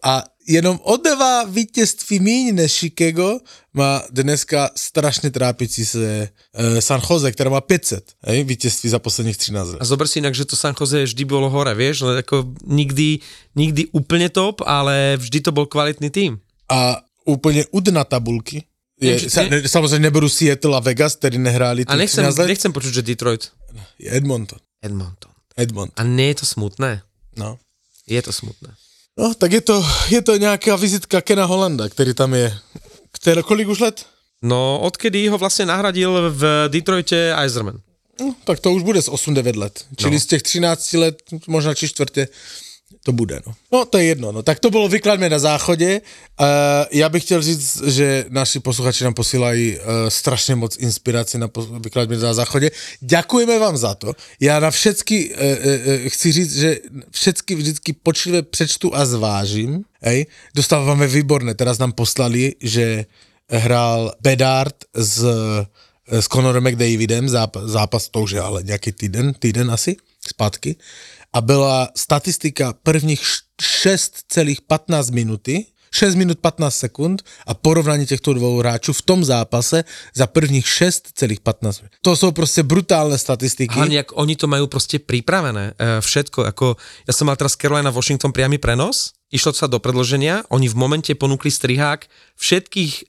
jenom o dva vítězství míň než Chicago má dneska strašně trápící se uh, San Jose, která má päť set hej, vítězství za posledních třináct let. A zober si inak, že to San Jose vždy bolo hore, vieš, ale ako nikdy, nikdy úplne top, ale vždy to bol kvalitný tým. A úplně u dna tabulky, je, Nevím, sa, ne, samozřejmě neberu Seattle a Vegas, který nehráli a nechcem, nechcem počuť, že Detroit. Je Edmonton. Edmonton. Edmonton. A nie je to smutné? No. Je to smutné. No, tak je to, je to nějaká vizitka Kena Hollanda, který tam je. Které, kolik už let? No, odkedy ho vlastne nahradil v Detroite Yzerman. No, tak to už bude z osm devět let. Čili no. Z těch třináct let, možná či čtvrtě, to bude, no. No, to je jedno, no. Tak to bylo Vykladme na záchodě. Uh, já bych chtěl říct, že naši posluchači nám posílají uh, strašně moc inspiraci na pos- Vykladme na záchodě. Děkujeme vám za to. Já na všetky, uh, uh, chci říct, že všetky vždycky počlivé přečtu a zvážím. Hej. Dostáváme výborné. Teraz nám poslali, že hrál Bedard s, s Conorem McDavidem, zápas, zápas to už je ale nějaký týden, týden asi, zpátky. A byla statistika prvních šest celá pätnásť minuty, šesť minút pätnásť sekúnd a porovnání těchto dvou hráčů v tom zápase za prvních šesť celá pätnásť minút. To jsou prostě brutálne statistiky. Hlavne, jak oni to majú prostě pripravené, e, všetko, ako ja som mal teraz Carolina Washington priamy prenos, išlo sa do predĺženia, oni v momente ponúkli strihák všetkých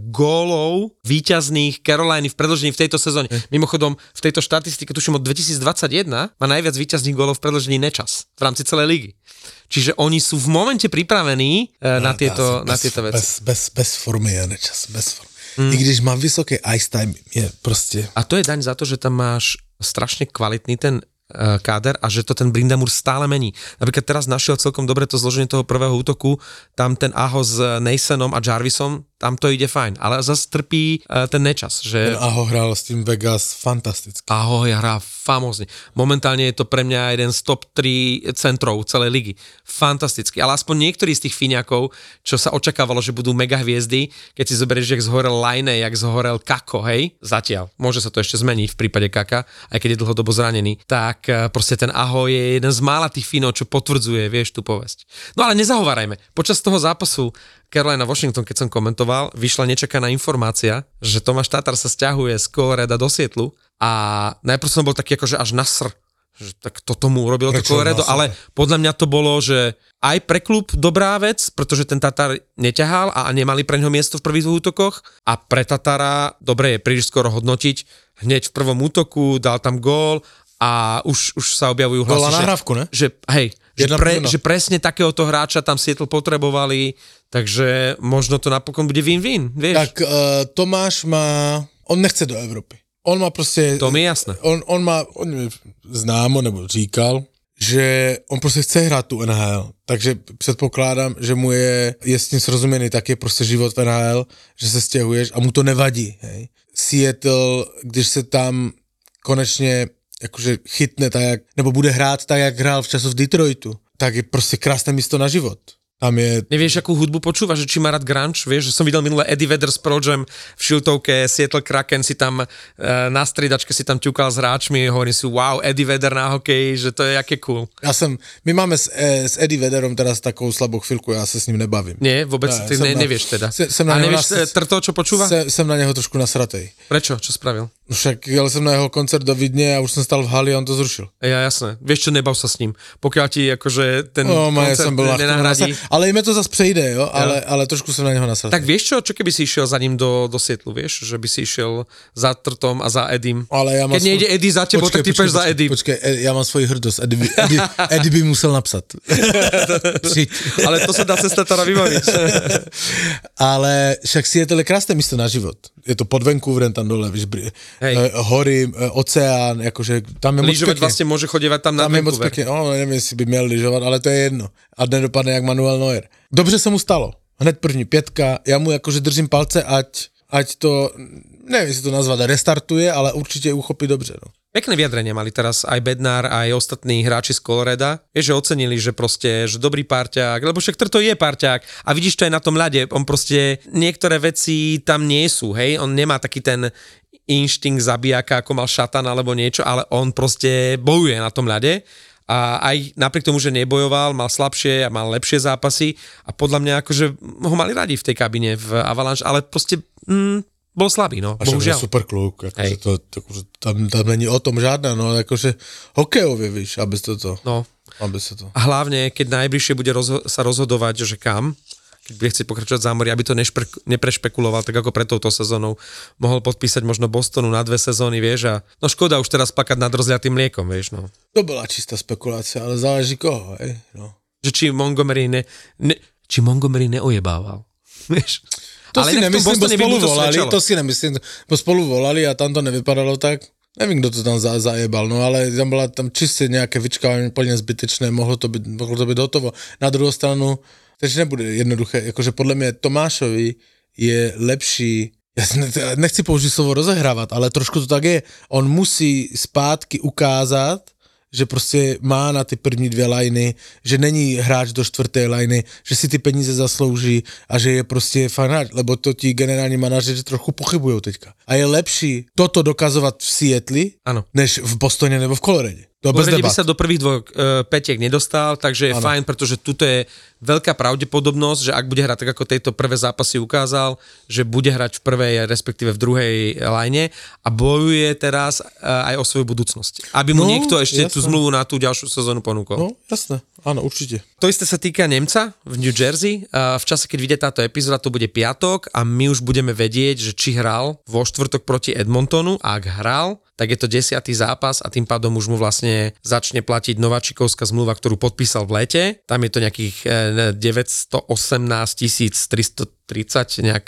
gólov víťazných Caroliny v predĺžení v tejto sezóne. Mm. Mimochodom, v tejto štatistike, tuším od dvetisícdvadsaťjeden, má najviac víťazných gólov v predĺžení Nečas v rámci celej ligy. Čiže oni sú v momente pripravení no, na, tieto, na bez, tieto veci. Bez, bez, bez formy je Nečas, bez formy. Mm. I když mám vysoký ice time, je proste... A to je daň za to, že tam máš strašne kvalitný ten káder a že to ten Brindamur stále mení. Napríklad teraz našiel celkom dobre to zloženie toho prvého útoku, tam ten Aho s Nasonom a Jarvisom, tam to ide fajn, ale zase trpí uh, ten Nečas. Že... Ten Aho hral s tým Vegas fantasticky. Aho hrá famózne. Momentálne je to pre mňa jeden z top tri centrov celej ligy. Fantasticky. Ale aspoň niektorí z tých Fíňakov, čo sa očakávalo, že budú mega hviezdy, keď si zoberieš, jak zhorel Laine, jak zhorel Kako, hej, zatiaľ. Môže sa to ešte zmeniť v prípade Kaka, aj keď je dlhodobo zranený. Tak proste ten Aho je jeden z mála tých Fínov, čo potvrdzuje, vieš, tú povesť. No ale nezahovárajme. Počas toho zápasu Carolina Washington, keď som komentoval, vyšla nečakaná informácia, že Tomáš Tatar sa sťahuje z Colorada do Sietlu a najprv som bol taký akože až nasr, že tak to tomu urobilo to Colorado, ale podľa mňa to bolo, že aj pre klub dobrá vec, pretože ten Tatar neťahal a nemali pre ňoho miesto v prvých útokoch a pre Tatara, dobre je príliš skoro hodnotiť, hneď v prvom útoku dal tam gól a už, už sa objavujú hlasy, že, nahrávku, ne? že hej, že, pre, že presne takéhoto hráča tam Seattle potrebovali, takže možno to napokon bude win-win, vieš? Tak uh, Tomáš má, on nechce do Evropy. On má prostě... To mi je jasné. On, on má, on mi známo nebo říkal, že on prostě chce hrát tu N H L, takže předpokládám, že mu je, je s tím srozuměný, tak je prostě život v N H L, že se stěhuješ a mu to nevadí, hej. Seattle, když se tam konečně jakože chytne tak, jak, nebo bude hrát tak, jak hrál v času v Detroitu, tak je prostě krásné místo na život. Tam je... Nevieš, akú hudbu počúvaš, že či má rád grunge, vieš, že som videl minulé Eddie Vedder s Pearl Jam v šiltovke, Seattle Kraken si tam e, na striedačke si tam ťukal s hráčmi, hovorím si, wow, Eddie Vedder na hokeji, že to je jaké cool. Ja som, my máme s, e, s Eddie Vedderom teraz takovou slabou chvíľku, ja sa s ním nebavím. Nie, vôbec, ja, ty ne, na, nevieš teda. Se, sem na A nevieš nas... Trto, čo počúva? Se, som na neho trošku nasratej. Prečo? Čo spravil? Však jel som na jeho koncert do Vidne a už som stal v hali a on to zrušil. Ja, jasné. Vieš čo, nebav sa s ním. Pokiaľ ti akože ten no, koncert nenahradí. Ale ime to zase prejde, jo, ale, ale trošku som na neho nasral. Tak vieš čo, čo keby si išiel za ním do, do Sietlu, vieš, že by si išiel za Trtom a za Edim. Ale ja Keď svoj... nejde Eddie za tebou, tak ty peš za Edim. Počkej, ja mám svoji hrdosť, Eddie, Eddie, Eddie by musel napsat. Ale to sa dá cez Tatara vybaviť. Ale však Seattle je krásne místo na život. Je to pod Vancouverem tam dole, víš, uh, hory, uh, oceán, akože tam je moc lyžovať vlastne môže chodievať tam na tam Vancouver. Tam je moc pekne, no neviem, jestli by měl lyžovat, ale to je jedno. A nedopadne jak Manuel Neuer. Dobře se mu stalo. Hned první pětka, já mu jakože držím palce, ať, ať to, neviem, jestli to nazvat, restartuje, ale určite uchopí dobře, no. Pekné vyjadrenie mali teraz aj Bednár, aj ostatní hráči z Colorada. Je, že ocenili, že proste, že dobrý parťák, lebo však Trto je parťák a vidíš to aj na tom ľade, on proste niektoré veci tam nie sú, hej, on nemá taký ten inštinkt zabijaka, ako mal Šatan alebo niečo, ale on proste bojuje na tom ľade a aj napriek tomu, že nebojoval, mal slabšie a mal lepšie zápasy a podľa mňa akože ho mali radi v tej kabine v Avalanche, ale proste mm, bol slabý, no, a bohužiaľ. A super kluk, akože to, akože tam, tam není o tom žádná, no akože hokejovie, víš, aby to to. No. Aby sa to. A hlavne, keď najbližšie bude rozho- sa rozhodovať, že kam, keď bude chcieť pokračovať v zámori, aby to nešpe- neprešpekuloval, tak ako pred touto sezónou mohol podpísať možno Bostonu na dve sezóny, vieš, a no škoda už teraz plakať nad rozliatým mliekom, vieš, no. To bola čistá spekulácia, ale záleží koho, hej, no. Že či Montgomery ne, ne či Montgomery neojebával, vieš. To ale si nemyslím, bo spolu to volali, svedčalo. to si nemyslím, bo spolu volali a tam to nevypadalo tak. Nevím, kto to tam za, zajebal, no ale tam bola tam čiste nejaké vyčkávanie plne zbytečné, mohlo to byť, mohlo to byť hotovo. Na druhou stranu, takže nebude jednoduché, akože podľa mňa Tomášovi je lepší, ja nechci použiť slovo rozehrávať, ale trošku to tak je, on musí zpátky ukázat, že prostě má na ty první dvě lajny, že není hráč do čtvrté lajny, že si ty peníze zaslouží a že je prostě fajn hráč, lebo to ti generální manažeři trochu pochybujou teďka. A je lepší toto dokazovat v Seattli, ano, než v Bostoně nebo v Coloradě. V Colorade by sa do prvých dvoch uh, petiek nedostal, takže je ano. Fajn, pretože tuto je veľká pravdepodobnosť, že ak bude hrať tak, ako tejto prvé zápasy ukázal, že bude hrať v prvej, respektíve v druhej line a bojuje teraz uh, aj o svoju budúcnosť. Aby mu no, niekto ešte jasné. Tú zmluvu na tú ďalšiu sezónu ponúkol. No, jasné, áno, určite. To isté sa týka Nemca v New Jersey. Uh, v čase, keď vyjde táto epizóda, to bude piatok a my už budeme vedieť, že či hral vo štvrtok proti Edmontonu a ak hral, tak je to desiatý zápas a tým pádom už mu vlastne začne platiť nováčikovská zmluva, ktorú podpísal v lete. Tam je to nejakých deväťstoosemnásť tisíc tristotridsať nejak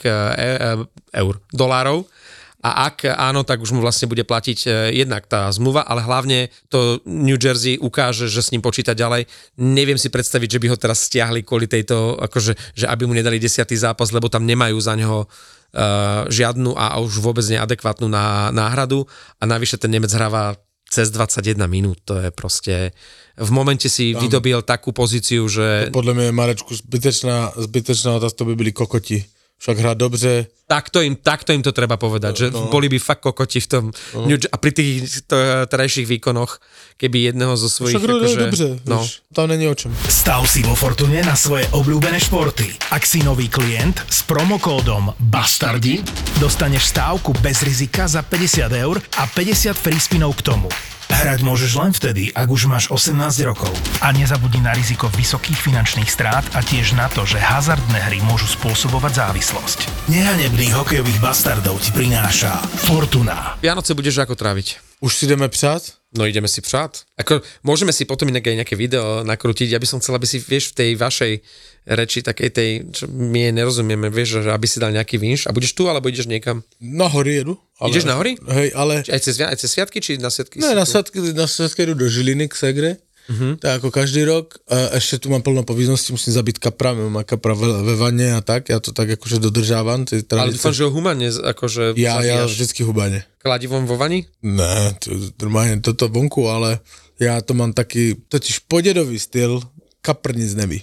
eur, dolárov. A ak áno, tak už mu vlastne bude platiť jednak tá zmluva, ale hlavne to New Jersey ukáže, že s ním počíta ďalej. Neviem si predstaviť, že by ho teraz stiahli kvôli tejto, akože, že aby mu nedali desiatý zápas, lebo tam nemajú za neho Uh, žiadnu a už vôbec neadekvátnu ná, náhradu a navyše ten Nemec hráva cez dvadsaťjeden minút, to je proste v momente si tam vydobil takú pozíciu, že... Podľa mňa, Marečku, zbytečná, zbytečná otázka, to by byli kokoti. Však hrá dobře. Takto im, takto im to treba povedať, že no. Boli by fakt kokoti v tom no. a pri tých terajších výkonoch, keby jedného zo svojich... Však akože, dobře, no. Víš, tam není o čom. Stav si vo Fortune na svoje obľúbené športy. Ak si nový klient s promokódom BASTARDI, dostaneš stávku bez rizika za päťdesiat eur a päťdesiat free spinov k tomu. Hrať môžeš len vtedy, ak už máš osemnásť rokov. A nezabudni na riziko vysokých finančných strát a tiež na to, že hazardné hry môžu spôsobovať závislosť. Nehanebných hokejových bastardov ti prináša Fortuna. Vianoce budeš ako tráviť? Už si ideme přát? No ideme si přát. Ako, môžeme si potom inak aj nejaké video nakrútiť. Ja by som chcel, aby si, vieš, v tej vašej reči, takej tej, čo my nerozumieme, vieš, že aby si dal nejaký vinš. A budeš tu, alebo ideš niekam? Na hory jedu. Ale, ideš na hory? Hej, ale... Aj cez, aj cez sviatky, či na sviatky? Ne, na sviatky, na sviatky jdu do Žiliny k Segre. Uh-huh. Tak ako každý rok. A ešte tu mám plno povinností, musím zabiť kapra, mám kapra ve, ve vane a tak, ja to tak akože dodržávam. Ale dúfam, že ho humane akože... Ja, ja vždycky humane. Kladivom vo vani? Ne, to, normálne toto vonku, ale ja to mám taký, totiž podedový styl, kapr nic neví.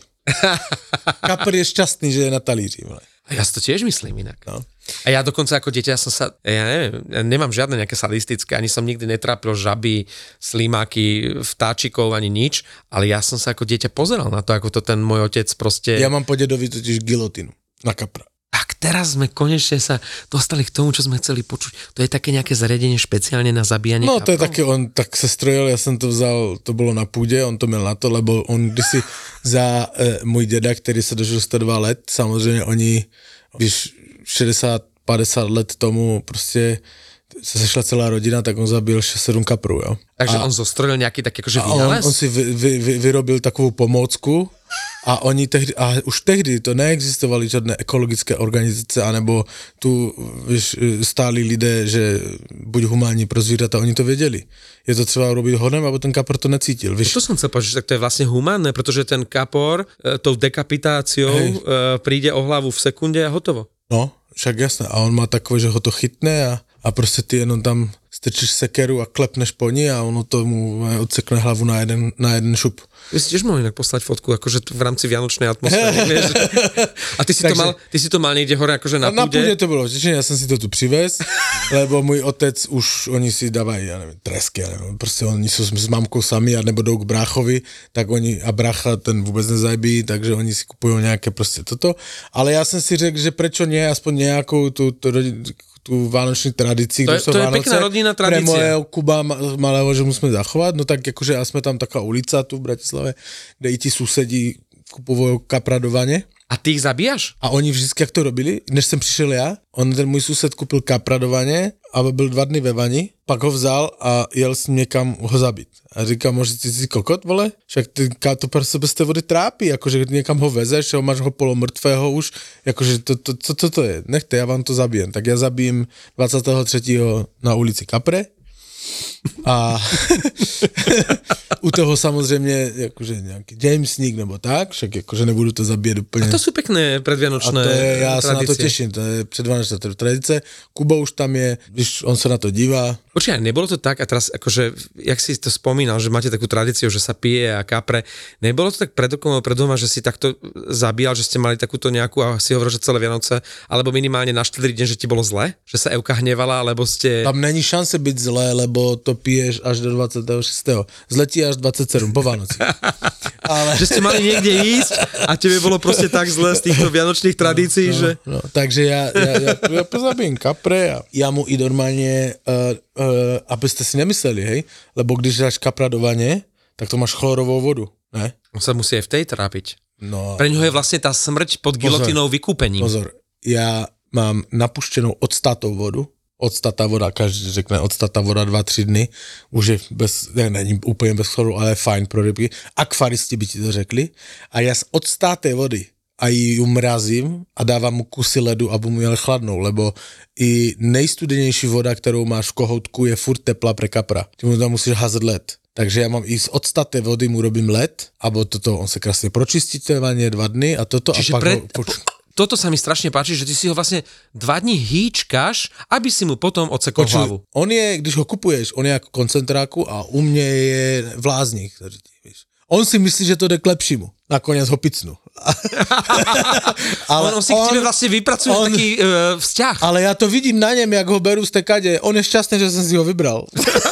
Kapr je šťastný, že je na talíři. A ja si to tiež myslím inak. No. A ja dokonca ako dieťa som sa, ja neviem, ja nemám žiadne nejaké sadistické, ani som nikdy netrápil žaby, slimáky, vtáčikov, ani nič, ale ja som sa ako dieťa pozeral na to, ako to ten môj otec proste... Ja mám po dedovi totiž gilotinu na kapra. Tak teraz sme konečne sa dostali k tomu, čo sme chceli počuť. To je také nejaké zariadenie špeciálne na zabíjanie No kaprov? to je také, on tak se strojil, ja som to vzal, to bolo na půdě, on to měl na to, lebo on kdysi za e, můj děda, který se dožil sto dva let, samozřejmě oni, když šedesát padesát let tomu prostě se sešla celá rodina, tak on zabil šesť sedem kaprů, jo. Takže a, on zostrojil nejaký taký akože vynález? On, on si vy, vy, vy, vyrobil takovou pomôcku a oni tehdy, a už tehdy to neexistovali žádné ekologické organizace, anebo tu víš, stáli lidé, že buď humánní pro zvířata, oni to věděli. Je to třeba robiť honem, aby ten kapor to necítil. Víš? To som chcel povedať, tak to je vlastne humánne, pretože ten kapor e, tou dekapitáciou e, príde o hlavu v sekunde a hotovo. No, však jasné. A on má takové, že ho to chytne a, a prostě ty jenom tam strčíš sekeru a klepneš po ní a ono tomu odsekne hlavu na jeden, na jeden šup. Vy si tiež mohli inak poslať fotku, akože v rámci vianočnej atmosféry, vieš. A ty si, Takže, to mal, ty si to mal niekde hore, akože na púde? Na púde to bolo vtečne, ja som si to tu privez, lebo môj otec už, oni si dávajú, ja neviem, tresky, ja neviem, proste oni sú s mamkou sami a nebo jdou k bráchovi, tak oni, a brácha ten vôbec nezajbí, takže oni si kupujú nejaké proste toto. Ale ja som si řekl, že prečo nie, aspoň nejakou tú, tú, tú vánočnú tradíciu, to je, to je pekná rodinná tradícia. Pre mojeho Kuba malého, že musíme zachovať, no tak akože a sme tam taká ulica tu v Bratislave, kde i ti susedí kupujú kapradovanie. A ty ich zabíjaš? A oni vždycky, jak to robili, než jsem přišel já, on ten můj sused kupil kapradovaně a byl dva dny ve vani, pak ho vzal a jel s ním někam ho zabít. A říkám, možná ty jsi kokot, vole? Však ty to pro sebe z té vody trápí, jakože někam ho vezeš, ho máš ho polomrtvého už, jakože to, to, to, to, to je, nechte, já vám to zabijem. Tak já zabijím dvacátého třetího na ulici Kapre a u toho samozřejmě jakože nějaký Jamesník nebo tak, však jakože nebudu to zabíjet úplně. A to jsou pěkné predvianočné tradice. A to je, já tradicie. se na to těším, to je předvánočná tradice. Kuba už tam je, když on se na to dívá. Určite, nebolo to tak, a teraz akože, jak si to spomínal, že máte takú tradíciu, že sa pije a kapre, nebolo to tak pred okom, pred doma, že si takto zabíjal, že ste mali takúto nejakú, a si hovoril, že celé Vianoce, alebo minimálne na štedrý deň, že ti bolo zle? Že sa Evka hnevala, alebo ste... Tam není šance byť zlé, lebo to piješ až do dvadsiateho šiesteho Zletí až dvadsiateho siedmeho po Vánoci. Ale... Že ste mali niekde ísť a tebe bolo proste tak zle z týchto vianočných tradícií, no, že... No, takže ja, ja, ja, ja pozabím kapre a ja mu i normálne... Uh, Uh, abyste si nemysleli, hej, lebo když dáš kapradovanie, tak to máš chlorovou vodu, ne? On sa musí aj v tej trápiť. No. Pre ňoho je vlastne tá smrť pod gilotinou vykúpením. Pozor, ja mám napuštěnou octatou vodu, octatá voda, každý řekne octatá voda dva tři dny, už je bez, ne, není úplně bez chloru, ale je fajn pro rybky, akvaristi by ti to řekli, a ja z octaté vody a ji mrazím a dávám mu kusy ledu, aby mu jel chladnou, lebo i nejstudenější voda, kterou máš v kohoutku, je furt teplá pre kapra. Ty mu tam musíš házet led. Takže ja mám i z octaté vody mu robím led, abo toto, on sa krásne pročistí to vanie dva dny a toto. Čiže a pak pre... ho... Poč... Toto sa mi strašne páči, že ty si ho vlastne dva dní hýčkaš, aby si mu potom odsekol Počuj, hlavu. On je, když ho kupuješ, on je ako koncentráku a u mne je vláznik. On si myslí, že to jde k lepšímu. Nakoniec ho picnú. Ale on, on si k tebe vlastne vypracuje on, taký uh, vzťah. Ale ja to vidím na ňem, jak ho berú z tekade. On je šťastný, že som si ho vybral.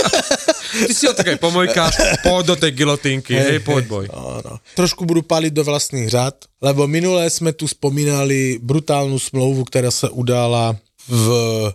Ty si ho také pomojkáš, poď do tej gilotínky, hej, hej poď boj. Áno. Trošku budú paliť do vlastných řad, lebo minulé sme tu spomínali brutálnu smlouvu, ktorá sa udála v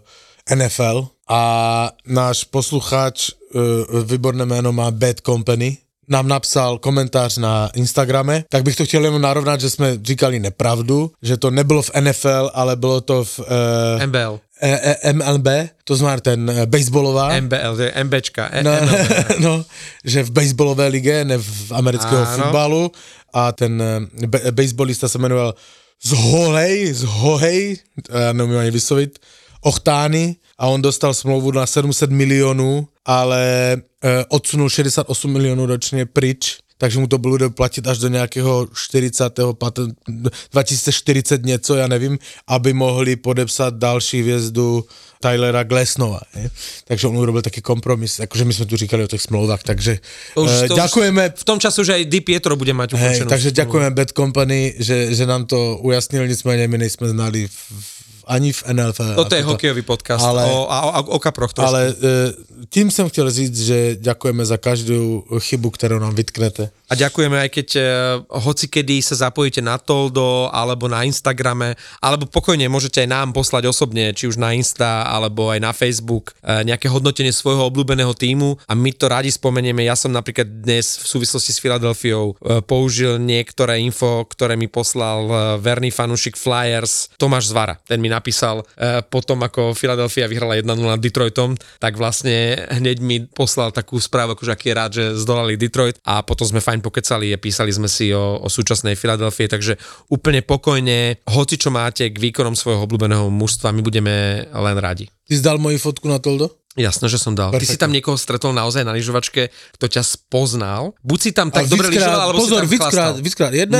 en ef el a náš poslucháč, uh, výborné jméno má Bad Company, nám napsal komentář na Instagrame, tak bych to chtěl jenom narovnat, že jsme říkali nepravdu, že to nebylo v en ef el, ale bylo to v uh, em bé el. E, e, em el bé, to znamená ten uh, baseballová. em bé el, to je MBčka. E, no, no, že v baseballové lige, ne v amerického Áno. futbalu a ten uh, be, baseballista se jmenoval Zhohej, Zhohej, já nevím ani vyslovit, Ochtány, a on dostal smlouvu na sedm set milionů, ale e, odsunul šedesát osm milionů ročně pryč, takže mu to bude platit až do nějakého čtyřicátého dva tisíce čtyřicet něco, já nevím, aby mohli podepsat další hvězdu Tylera Glasnova. Je? Takže on urobil taký kompromis, akože my sme tu říkali o tých smlouvách, takže už, to ďakujeme. V tom času, že aj Di Pietro bude mať ukončenú. Hej, takže ďakujeme Bad Company, že, že nám to ujasnil, nicméně my nejsme znali v, ani v en ef el. Toto je hokejový podcast ale, o, o, o kaproch trošku. Ale tým som chcel říct, že ďakujeme za každú chybu, ktorú nám vytknete. A ďakujeme aj keď uh, hoci kedy sa zapojíte na Toldo alebo na Instagrame, alebo pokojne môžete aj nám poslať osobne, či už na Insta alebo aj na Facebook uh, nejaké hodnotenie svojho obľúbeného tímu a my to radi spomenieme. Ja som napríklad dnes v súvislosti s Filadelfiou uh, použil niektoré info, ktoré mi poslal uh, verný fanúšik Flyers Tomáš Zvara. Ten mi napísal uh, potom, ako Filadelfia vyhrala jeden nula nad Detroitom, tak vlastne hneď mi poslal takú správu, akože aký je rád, že zdolali Detroit, a potom sme fajn pokecali a písali sme si o, o súčasnej Filadelfii, takže úplne pokojne, hoci čo máte k výkonom svojho obľúbeného mužstva, my budeme len radi. Ty si dal moju fotku na Toldo? Jasné, že som dal. Perfektne. Ty si tam niekoho stretol naozaj na lyžovačke, kto ťa spoznal? Buď si tam tak dobre lyžoval, alebo pozor, si tam víckrát, chlastal. víckrát, jedno, Nie. jedno.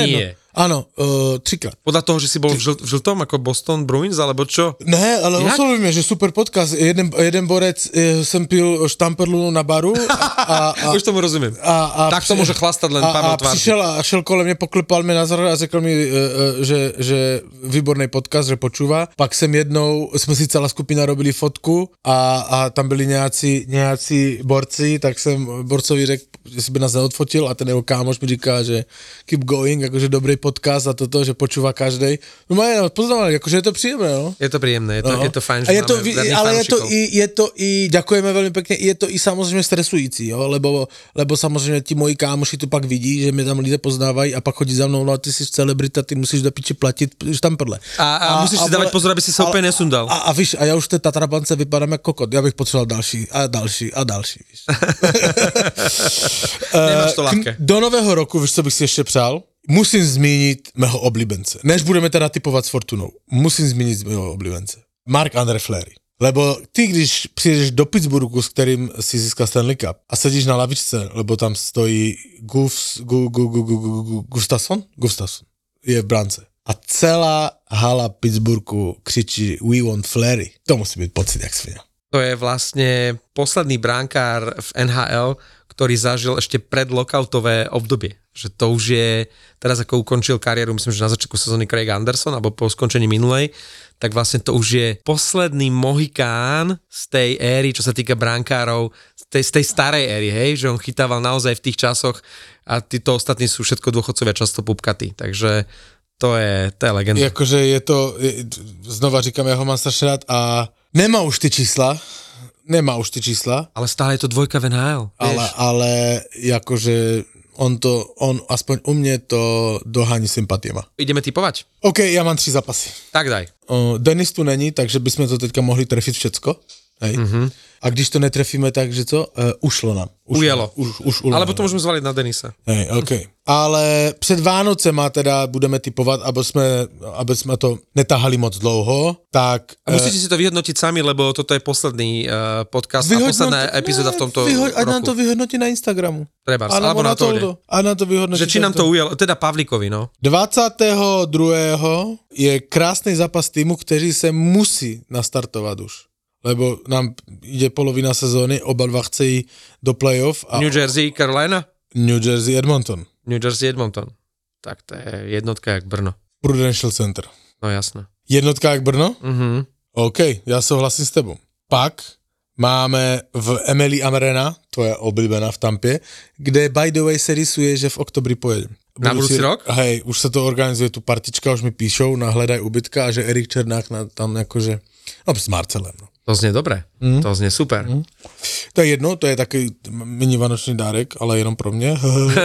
Áno, uh, trikrát. Podľa toho, že si bol v, žl- v žltom ako Boston Bruins, alebo čo? Ne, ale oslovíme, že super podcast. Jeden, jeden borec, eh, som pil štamperlu na baru. A, a, Už tomu rozumiem. A, a tak to môže chlastať len Pavel Tvárky. A přišel a šel kolem mě, poklepal mě na zhr a řekl mi, uh, uh, že, že výborný podcast, že počúva. Pak jsem jednou, jsme si celá skupina robili fotku a, a tam byli nějací, nějací borci, tak jsem borcovi řekl, že si by nás neodfotil a ten jeho kámoš mi říká, že keep going, akože dobrý podcast a toto, že počúva každej. No majú, poznávali, akože je to príjemné, no. Je to príjemné, je to, no. je to fajn, že je to, máme ale je to, i, je to i, ďakujeme veľmi pekne, je to i samozrejme stresující, jo, lebo, lebo samozrejme ti moji kámoši to pak vidí, že mě tam lidé poznávají a pak chodí za mnou, no a ty si celebrita, ty musíš do piči platit štamperle. A, a, a musíš a, si dávať pozor, aby si sa úplne nesundal. A, a víš, a ja už v té Tatrabance vypadám jako kokot, ja bych potřeboval další a další a další, víš. Nemáš to ľahké. Do nového roku, víš, co bych si ještě přál? Musím zmínit mého oblíbence. Než budeme teda typovat s Fortunou, musím zmínit mého oblíbence. Marc-André Fleury. Lebo ty, když přijdeš do Pittsburghu, s kterým si získal Stanley Cup a sedíš na lavičce, lebo tam stojí Gufs, gu, gu, gu, gu, gu, gu, Gustafsson? Gustafsson je v brance. A celá hala Pittsburghu křičí We want Fleury. To musí být pocit, jak svinia. To je vlastne posledný bránkár v en há el, ktorý zažil ešte pred lockoutové obdobie. Že to už je, teraz ako ukončil kariéru, myslím, že na začiatku sezóny Craig Anderson, alebo po skončení minulej, tak vlastne to už je posledný mohikán z tej éry, čo sa týka brankárov, z tej, z tej starej éry, hej, že on chytával naozaj v tých časoch a títo ostatní sú všetko dôchodcovia často pupkatí, takže to je, to je legenda. Jakože je to, je, znova říkám, ja ho mám strašne rád a nemá už ty čísla, nemá už ty čísla. Ale stále je to dvojka v en há el. Ale, ale jakože on to, on aspoň u mne to dohání sympatiema. Ideme typovať? OK, ja mám tři zápasy. Tak daj. O, Denis tu není, takže bychom to teďka mohli trefit všecko. Hej. Mm-hmm. A když to netrefíme, takže co? Uh, ušlo nám. Ušlo, Ujelo. Už, už ulo, alebo to môžeme zvaliť na Denisa. Hej, OK. Ale před Vánocema teda budeme typovat, aby jsme, aby jsme to netahali moc dlouho, tak... A musíte uh, si to vyhodnotiť sami, lebo toto je posledný uh, podcast vyhodnot... a posledná epizóda v tomto vyho- roku. A nám to vyhodnotí na Instagramu. Treba, alebo na to. A nám to vyhodnotí. Že či nám to ujelo, teda Pavlíkovi, no. dvacátého druhého je krásný zápas týmu, kteří se musí nastartovat už. Lebo nám ide polovina sezóny, oba dva chcejí do playoff. A New Jersey, Carolina? New Jersey, Edmonton. New Jersey, Edmonton. Tak to je jednotka jak Brno. Prudential Center. No jasné. Jednotka jak Brno? Mhm. OK, já souhlasím s tebou. Pak máme v Emily Arena, to je oblíbená v Tampě, kde by the way se rysuje, že v oktobri pojedem. Na budúci rok? Hej, už se to organizuje, tu partička, už mi píšou na Hledaj ubytka a že Erik Černák na, tam jakože, no s Marcelem, no. To znie dobre, mm. to znie super. Mm. To je jedno, to je taký mini vánočný dárek, ale jenom pro mě.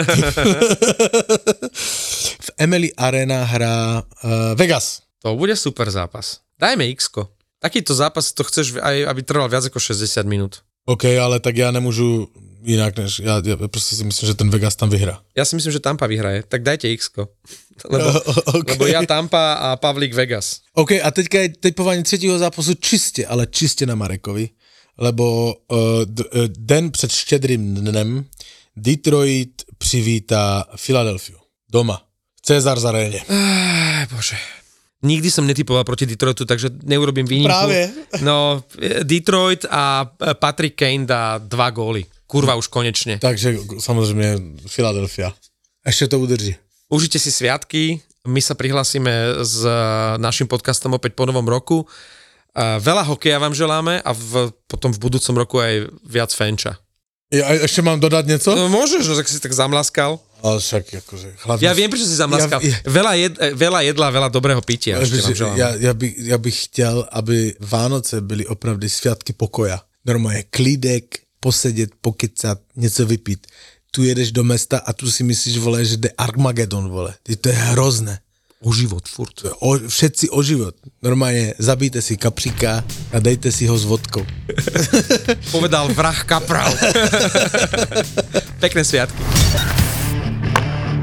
V Emily Arena hrá uh, Vegas. To bude super zápas. Dajme X-ko. Takýto zápas to chceš, aj, aby trval viac ako šesťdesiat minút. OK, ale tak ja nemôžu inak, než ja, ja proste si myslím, že ten Vegas tam vyhrá. Ja si myslím, že Tampa vyhraje. Tak dajte X-ko. Lebo, okay. lebo ja Tampa a Pavlík Vegas. OK, a teďka je typovanie třetího zápasu čiste, ale čiste na Marekovi, lebo uh, d- uh, den před štědrým dnem Detroit přivítá Filadelfiu. Doma. Cezars Aréne. Aj, bože. Nikdy som netypoval proti Detroitu, takže neurobím výnimku. Práve. No, Detroit a Patrick Kane dá dva góly. Kurva už konečne. Takže samozrejme Filadelfia. Ešte to udrží. Užite si sviatky, my sa prihlásime s našim podcastom opäť po novom roku. Veľa hokeja vám želáme a v, potom v budúcom roku aj viac fenča. Ja ešte mám dodať nieco? No môžeš, no tak si tak zamlaskal. Ale však akože... Hlavne... Ja viem, prečo si zamlaskal. Ja, ja... Veľa, jed, veľa jedla, veľa dobrého pitia. Ja, ja, by, ja bych chtěl, aby Vánoce byly opravdu sviatky pokoja. Normálne klídek, posedět, pokecat, něco vypít. Tu jedeš do mesta a tu si myslíš, vole, že jde Armagedon, vole. To je hrozné. O život, furt. O, všetci o život. Normálne zabijte si kapříka a dejte si ho s vodkou. Povedal vrah kapral. Pekné sviatky.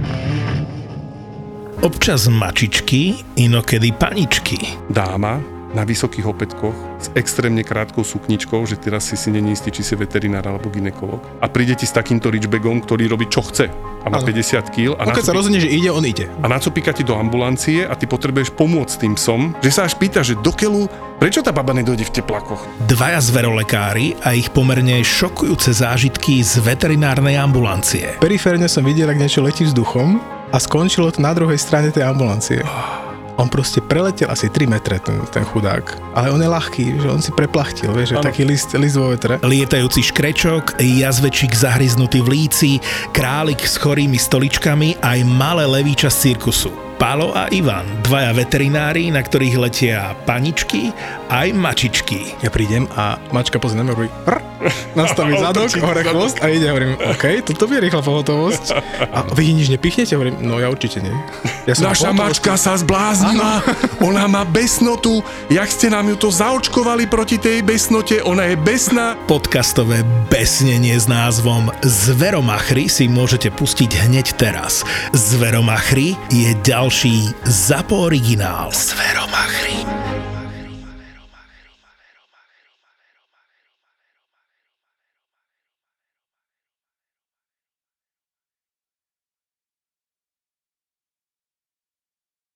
Občas mačičky, inokedy paničky. Dáma, na vysokých opätkoch s extrémne krátkou sukničkou, že teraz si si není istý, či si veterinár alebo gynekolog. A príde ti s takýmto reachbagom, ktorý robí čo chce a má ano. päťdesiat kíl. A keď sa rozhodne, že ide, on ide. A nacopíka ti do ambulancie a ty potrebuješ pomôcť tým psom, že sa až pýta, že do keľu, prečo tá baba nedojde v teplákoch? Dvaja zverolekári a ich pomerne šokujúce zážitky z veterinárnej ambulancie. Periférne som videl, ak niečo letí vzduchom a skončilo to na druhej strane tej ambulancie. On proste preletel asi tri metre, ten, ten chudák. Ale on je ľahký, že on si preplachtil, vieš, že taký list, list vo vetre. Lietajúci škrečok, jazvečík zahryznutý v líci, králik s chorými stoličkami aj malé levíča z cirkusu. Pálo a Ivan, dvaja veterinári, na ktorých letia paničky aj mačičky. Ja prídem a mačka pozrie na mňa, hovorí nastaví zadok, hore chvost a ide, hovorím, OK, toto je rýchla pohotovosť. A vy nič nepichnete? Hovorím, no ja určite nie. Ja Naša mačka sa zbláznila, ona má besnotu, jak ste nám ju to zaočkovali proti tej besnote, ona je besná. Podcastové besnenie s názvom Zveromachry si môžete pustiť hneď teraz. Zveromachry je ďalší ZAPO originál. Zveromachry.